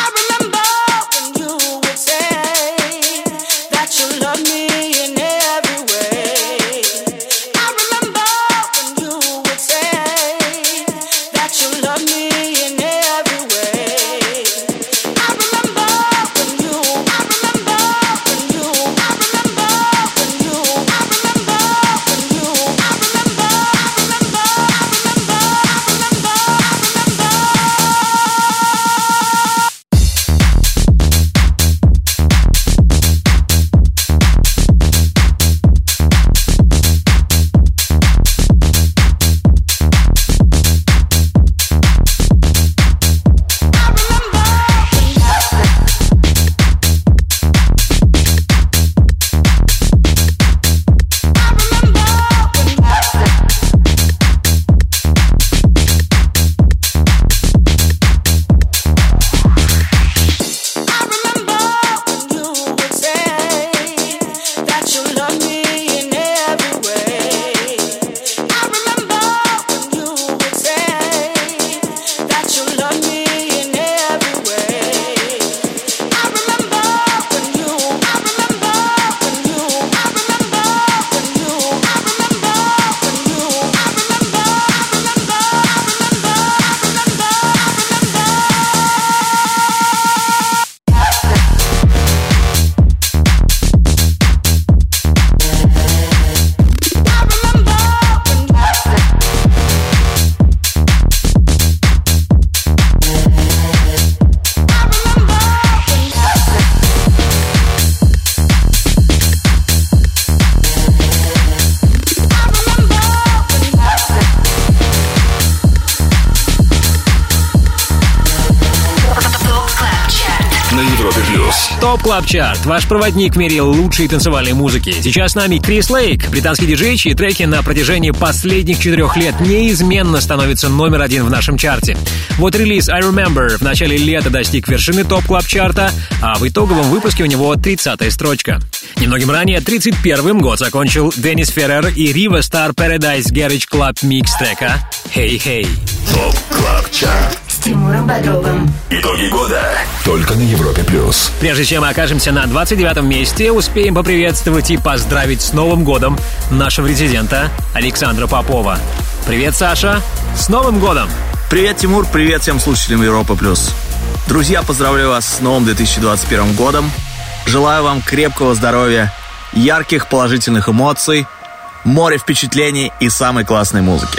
Speaker 3: Топ Клаб Чарт, ваш проводник в мире лучшей танцевальной музыки. Сейчас с нами Крис Лейк, британский диджей, чьи треки на протяжении последних четырех лет неизменно становятся номер один в нашем чарте. Вот релиз I Remember в начале лета достиг вершины Топ Клаб Чарта, а в итоговом выпуске у него тридцатая строчка. Немногим ранее, тридцать первым год закончил Деннис Феррер и Riva Star Paradise Garage Club Mix трека Hey Hey.
Speaker 2: Топ Клаб Чарт.
Speaker 1: С Тимуром Бодровым.
Speaker 2: Итоги года. Только на Европе плюс.
Speaker 3: Прежде чем мы окажемся на двадцать девятом месте, успеем поприветствовать и поздравить с Новым годом нашего резидента Александра Попова. Привет, Саша! С Новым годом!
Speaker 17: Привет, Тимур! Привет всем слушателям Европа плюс. Друзья, поздравляю вас с новым две тысячи двадцать первым годом. Желаю вам крепкого здоровья, ярких положительных эмоций, море впечатлений и самой классной музыки.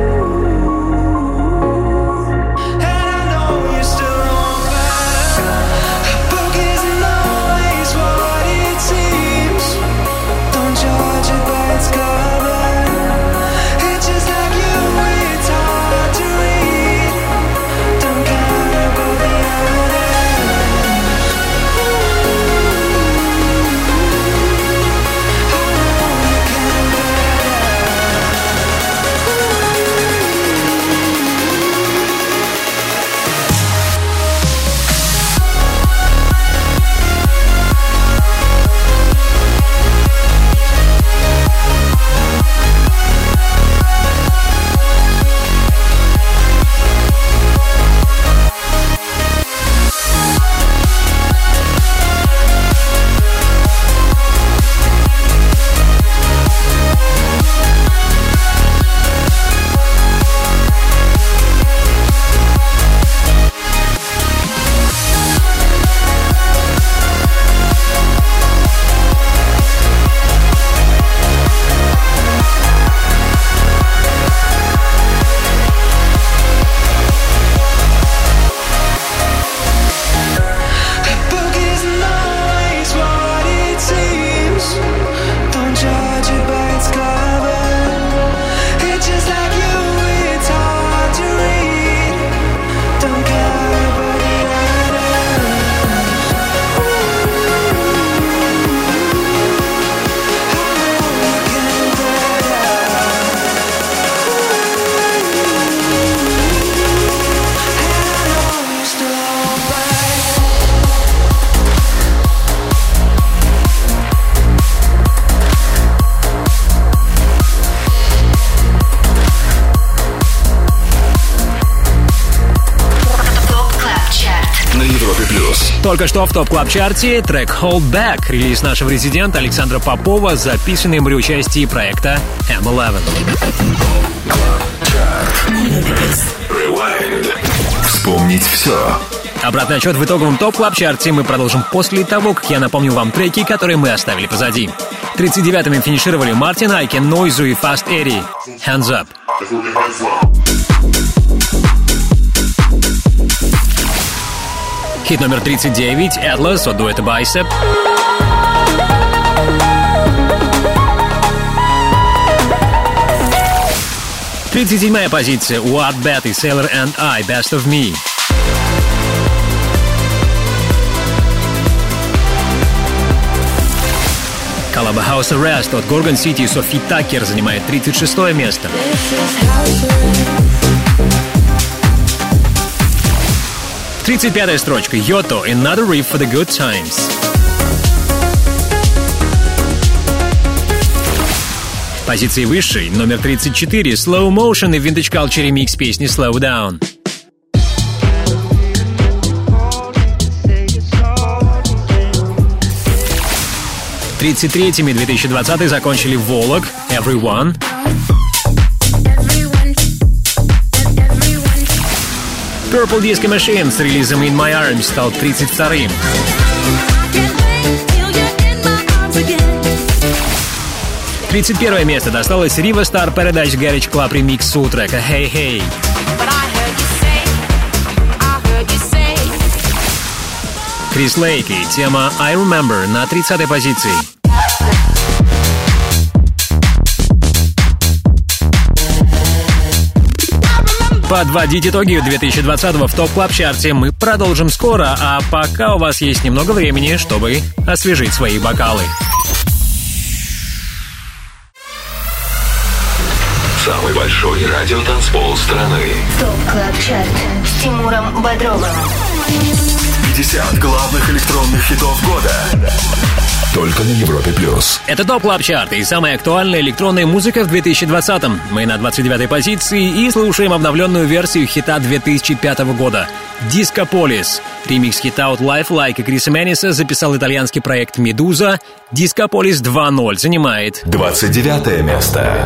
Speaker 7: And I know you're still on back.
Speaker 3: Только что в топ-клаб-чарте трек Hold Back, релиз нашего резидента Александра Попова, записанный при участии проекта эм одиннадцать.
Speaker 2: Вспомнить все.
Speaker 3: Обратный отчет в итоговом топ-клаб-чарте мы продолжим после того, как я напомню вам треки, которые мы оставили позади. тридцать девятыми финишировали Мартин Айкен, Нойзу и Fast Eddie. Hands Up. Хит номер тридцать девять Atlas от дуэта Bicep. тридцать седьмая позиция What Bet и Sailor and I Best of Me. Коллаба House Arrest от Gorgon City и Софи Такер занимает тридцать шестое место. тридцать пятая строчка Йото Another Riff for the Good Times. Позиции выше, номер тридцать четыре Slow Motion и Vintage Culture ремикс песни Slow Down. тридцать третьими две тысячи двадцатый закончили Волок Everyone. Purple Disco Machine с релизом In My Arms стал тридцать вторым. тридцать первое место досталось Riva Star Paradise Garage Club ремикс у трека Hey Hey. Крис Лейк и тема I Remember на тридцатой позиции. Подводить итоги две тысячи двадцатого в топ-клаб-чарте мы продолжим скоро, а пока у вас есть немного времени, чтобы освежить свои бокалы.
Speaker 2: Самый большой радиотанцпол страны.
Speaker 1: ТОП-клаб-чарт с Тимуром Бодровым.
Speaker 2: пятьдесят главных электронных хитов года. Только на Европе плюс.
Speaker 3: Это ТОП Клаб Чарт и самая актуальная электронная музыка в две тысячи двадцатом. Мы на двадцать девятой позиции и слушаем обновленную версию хита две тысячи пятого года Disco Police. Ремикс хита от Life Like и Криса Мэниса записал итальянский проект Medusa. Disco Police два ноль занимает
Speaker 2: двадцать девятое место.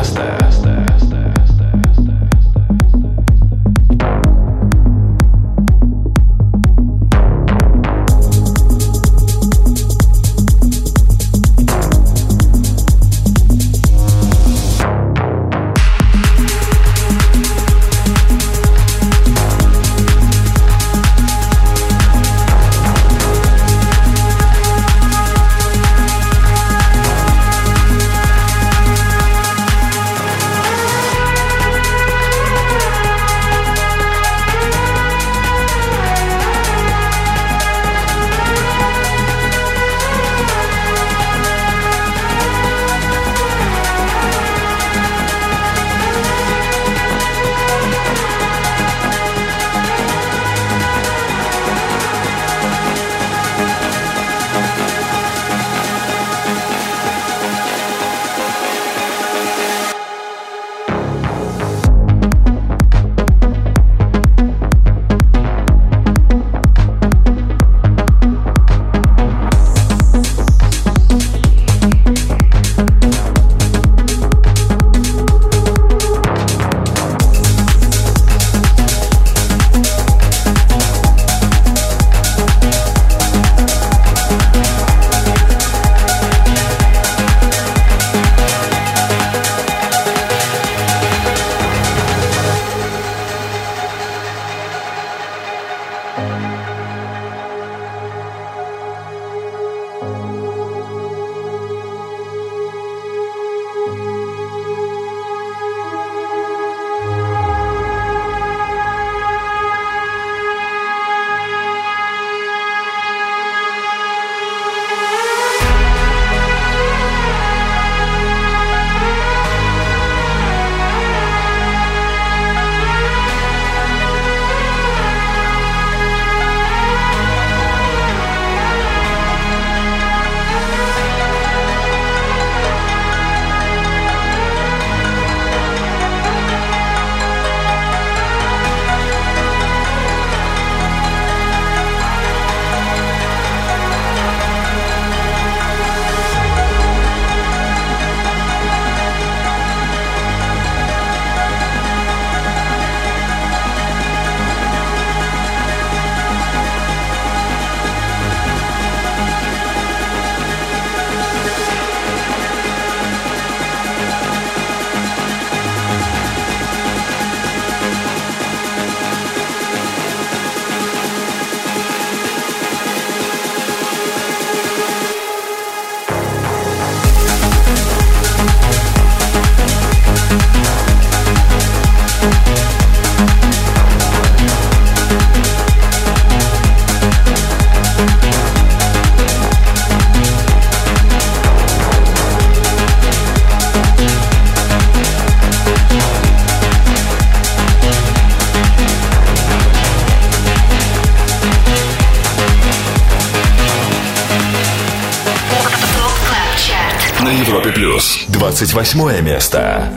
Speaker 2: На Европе плюс двадцать восьмое место.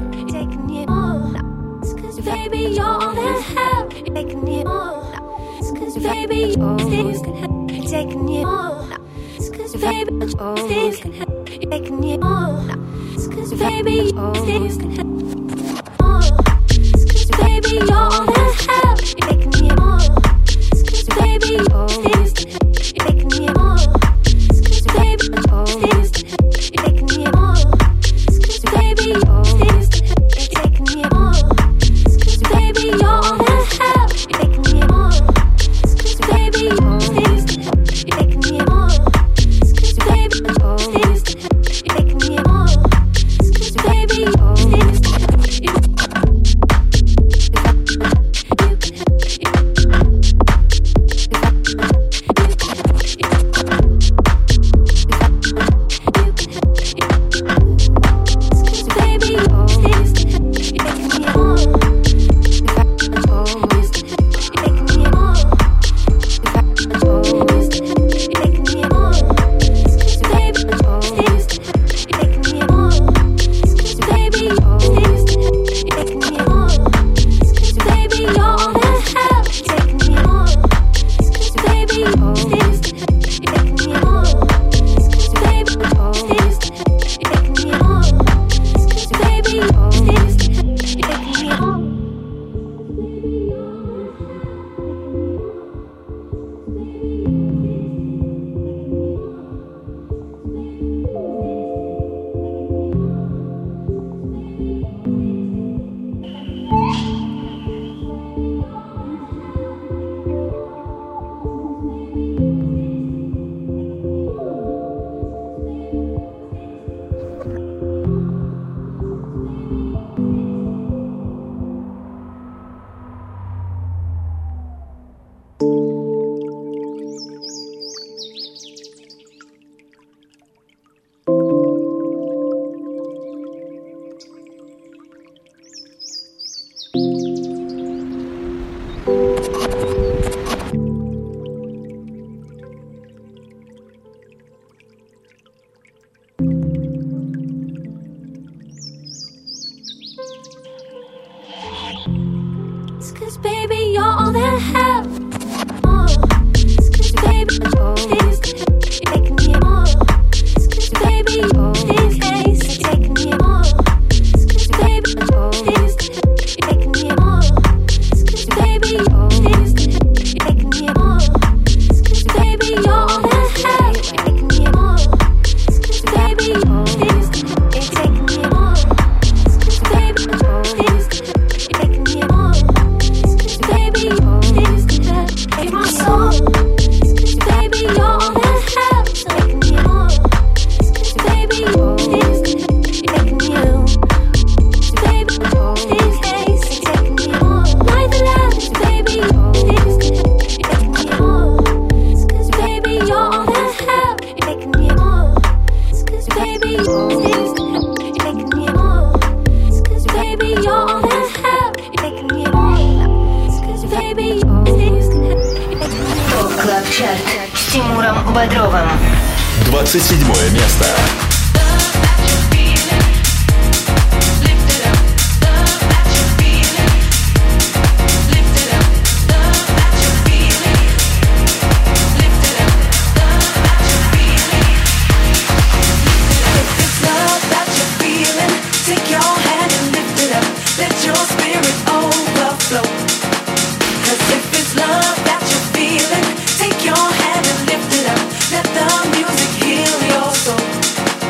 Speaker 2: двадцать седьмое место.
Speaker 10: Take your hand and lift it up. Let the music heal your soul.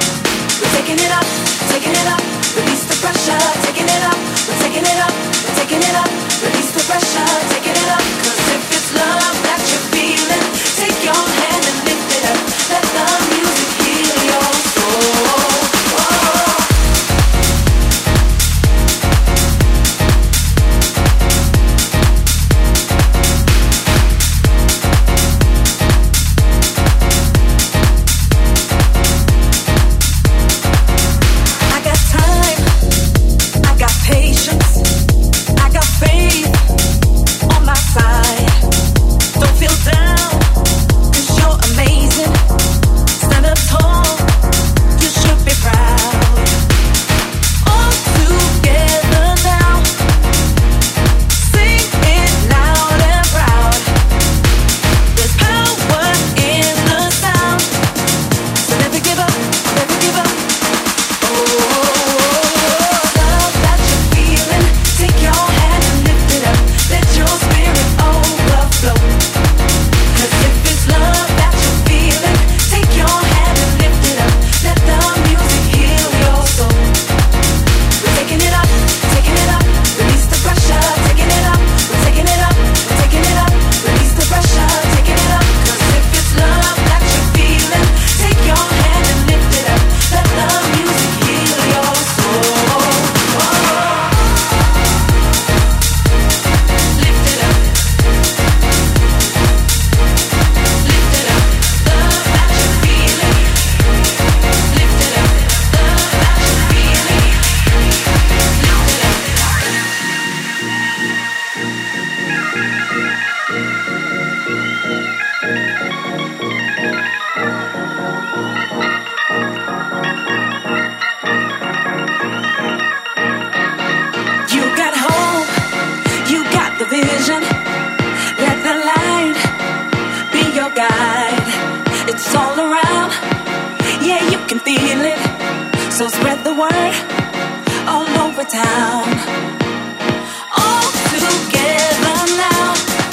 Speaker 10: feel it. So spread the word all over town. All together now.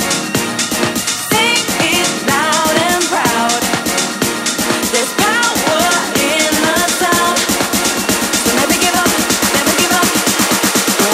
Speaker 10: Sing it loud and proud. There's power in the sound. So never give up, never give up. Oh,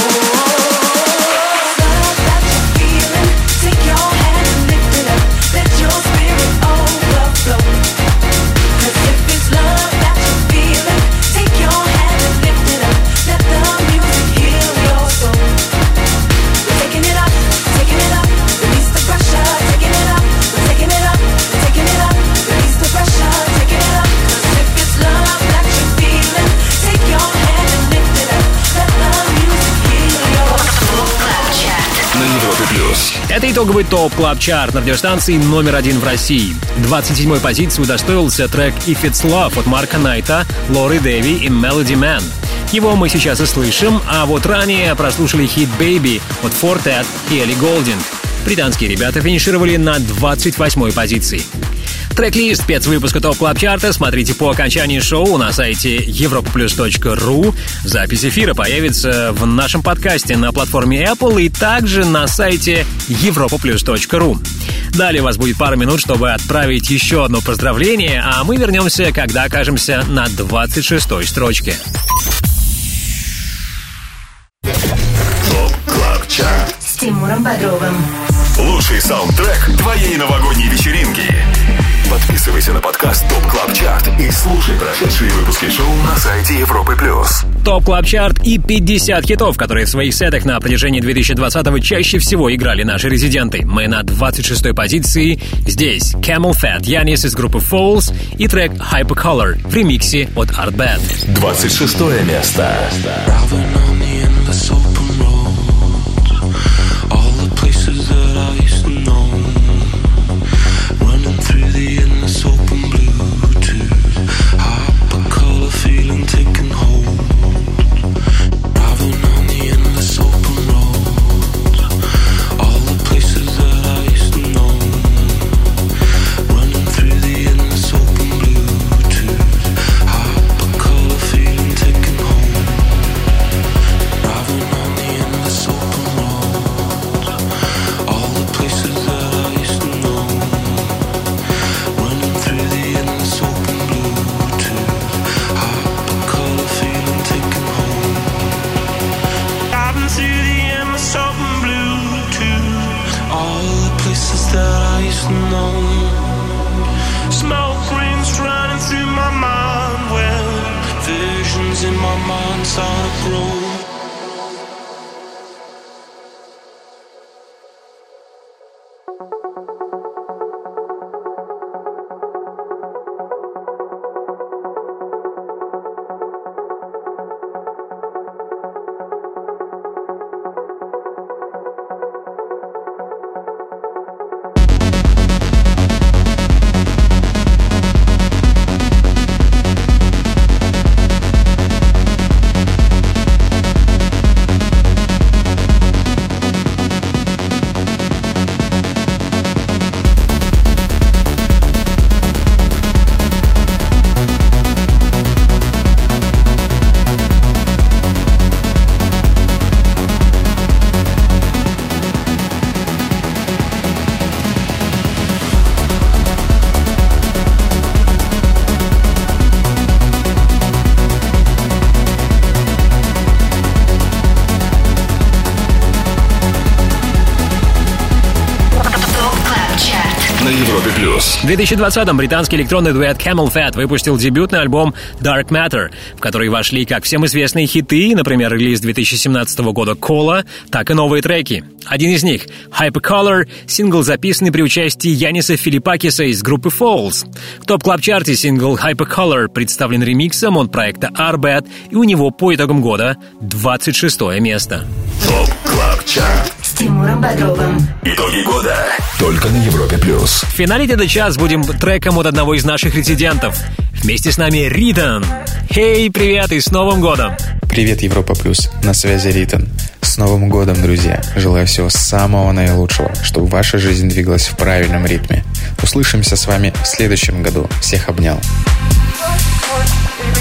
Speaker 10: love that you're feeling. Take your hand and lift it up. Let your spirit overflow. 'Cause if it's love that you're feeling, take your hand and lift it up. Let the music heal your soul. We're taking it up, taking it up. Release the pressure, taking it up. We're taking it up, taking it up. Release the pressure, taking it up. 'Cause if it's love that you're feeling, take your hand and lift it up. Let the music heal your soul.
Speaker 2: На Европе плюс.
Speaker 3: Это итоговый ТОП Клаб Чарт на радиостанции номер один в России. двадцать седьмой позиции удостоился трек If It's Love от Марка Найта, Лори Дэви и Melody Man. Его мы сейчас и слышим, а вот ранее прослушали хит Baby от Fortet и Элли Голдинг. Британские ребята финишировали на двадцать восьмой позиции. Трек-лист спецвыпуска ТОП Клаб Чарта смотрите по окончании шоу на сайте европа плюс точка ру. Запись эфира появится в нашем подкасте на платформе Apple и также на сайте европа плюс точка ру. Далее у вас будет пара минут, чтобы отправить еще одно поздравление, а мы вернемся, когда окажемся на двадцать шестой строчке.
Speaker 2: ТОП Клаб Чарт.
Speaker 1: С Тимуром Бодровым.
Speaker 2: Лучший саундтрек твоей новогодней вечеринки. Подписывайся на подкаст ТОП Клаб Чарт и слушай прошедшие выпуски шоу на сайте Европы плюс.
Speaker 3: ТОП Клаб Чарт и пятьдесят хитов, которые в своих сетах на протяжении две тысячи двадцатого чаще всего играли наши резиденты. Мы на двадцать шестой позиции. Здесь Camel Fat, Янис из группы Falls и трек Hypercolor в ремиксе от Art Bad.
Speaker 2: двадцать шестое место.
Speaker 18: Through the endless open Bluetooth, hypercolor feeling taking hold. Driving on the endless open road, all the places that I used to know. Running through the endless open Bluetooth, hypercolor feeling taking hold. Driving on the endless open road, all the places that I used to know. Through the endless open Bluetooth, hypercolor feeling taken home. Driving through the endless open Bluetooth, all the places that I used to know. Smoke rings running through my mind, well, visions in my mind start to grow.
Speaker 3: В две тысячи двадцатом британский электронный дуэт Camel Fat выпустил дебютный альбом Dark Matter, в который вошли как всем известные хиты, например, релиз две тысячи семнадцатого года Кола, так и новые треки. Один из них — Hypercolor, сингл, записанный при участии Яниса Филиппакиса из группы Falls. В топ-клаб-чарте сингл Hypercolor представлен ремиксом от проекта Art Bad, и у него по итогам года двадцать шестое место.
Speaker 2: ТОП Клаб Чарт
Speaker 1: с Тимуром Бодровым.
Speaker 2: Итоги года только на Европе плюс.
Speaker 3: В финале этот час будем треком от одного из наших резидентов. Вместе с нами Ритан. Хей, привет и с Новым годом!
Speaker 19: Привет, Европа плюс. На связи Ритан. С Новым годом, друзья. Желаю всего самого наилучшего, чтобы ваша жизнь двигалась в правильном ритме. Услышимся с вами в следующем году. Всех обнял.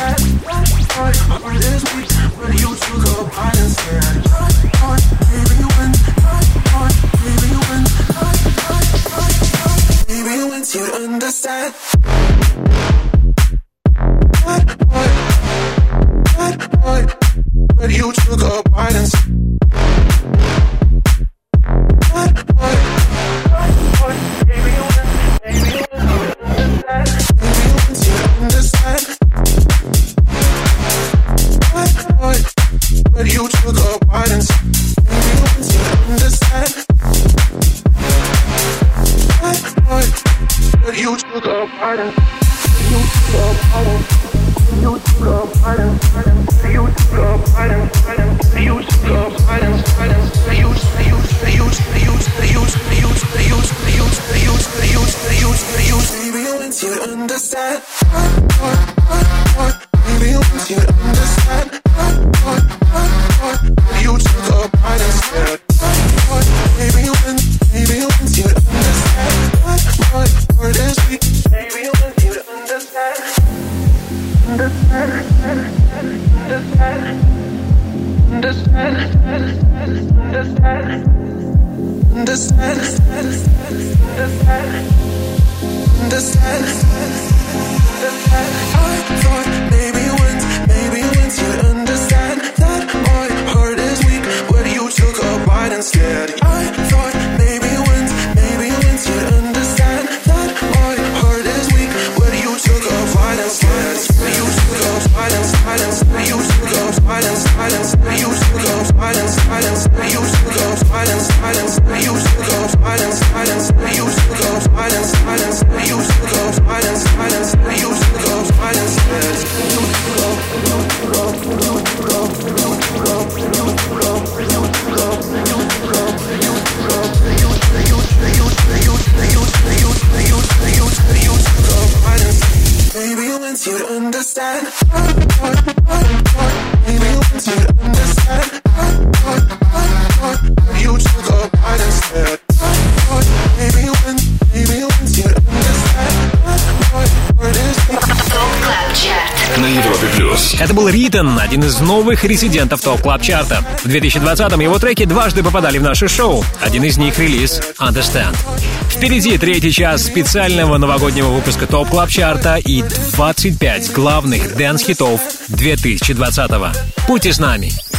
Speaker 3: Это был Ритон, один из новых резидентов ТОП Клаб Чарта. В две тысячи двадцатом его треки дважды попадали в наше шоу. Один из них — релиз Understand. Впереди третий час специального новогоднего выпуска ТОП Клаб Чарта и двадцать пять главных дэнс-хитов две тысячи двадцатого. Будьте с нами.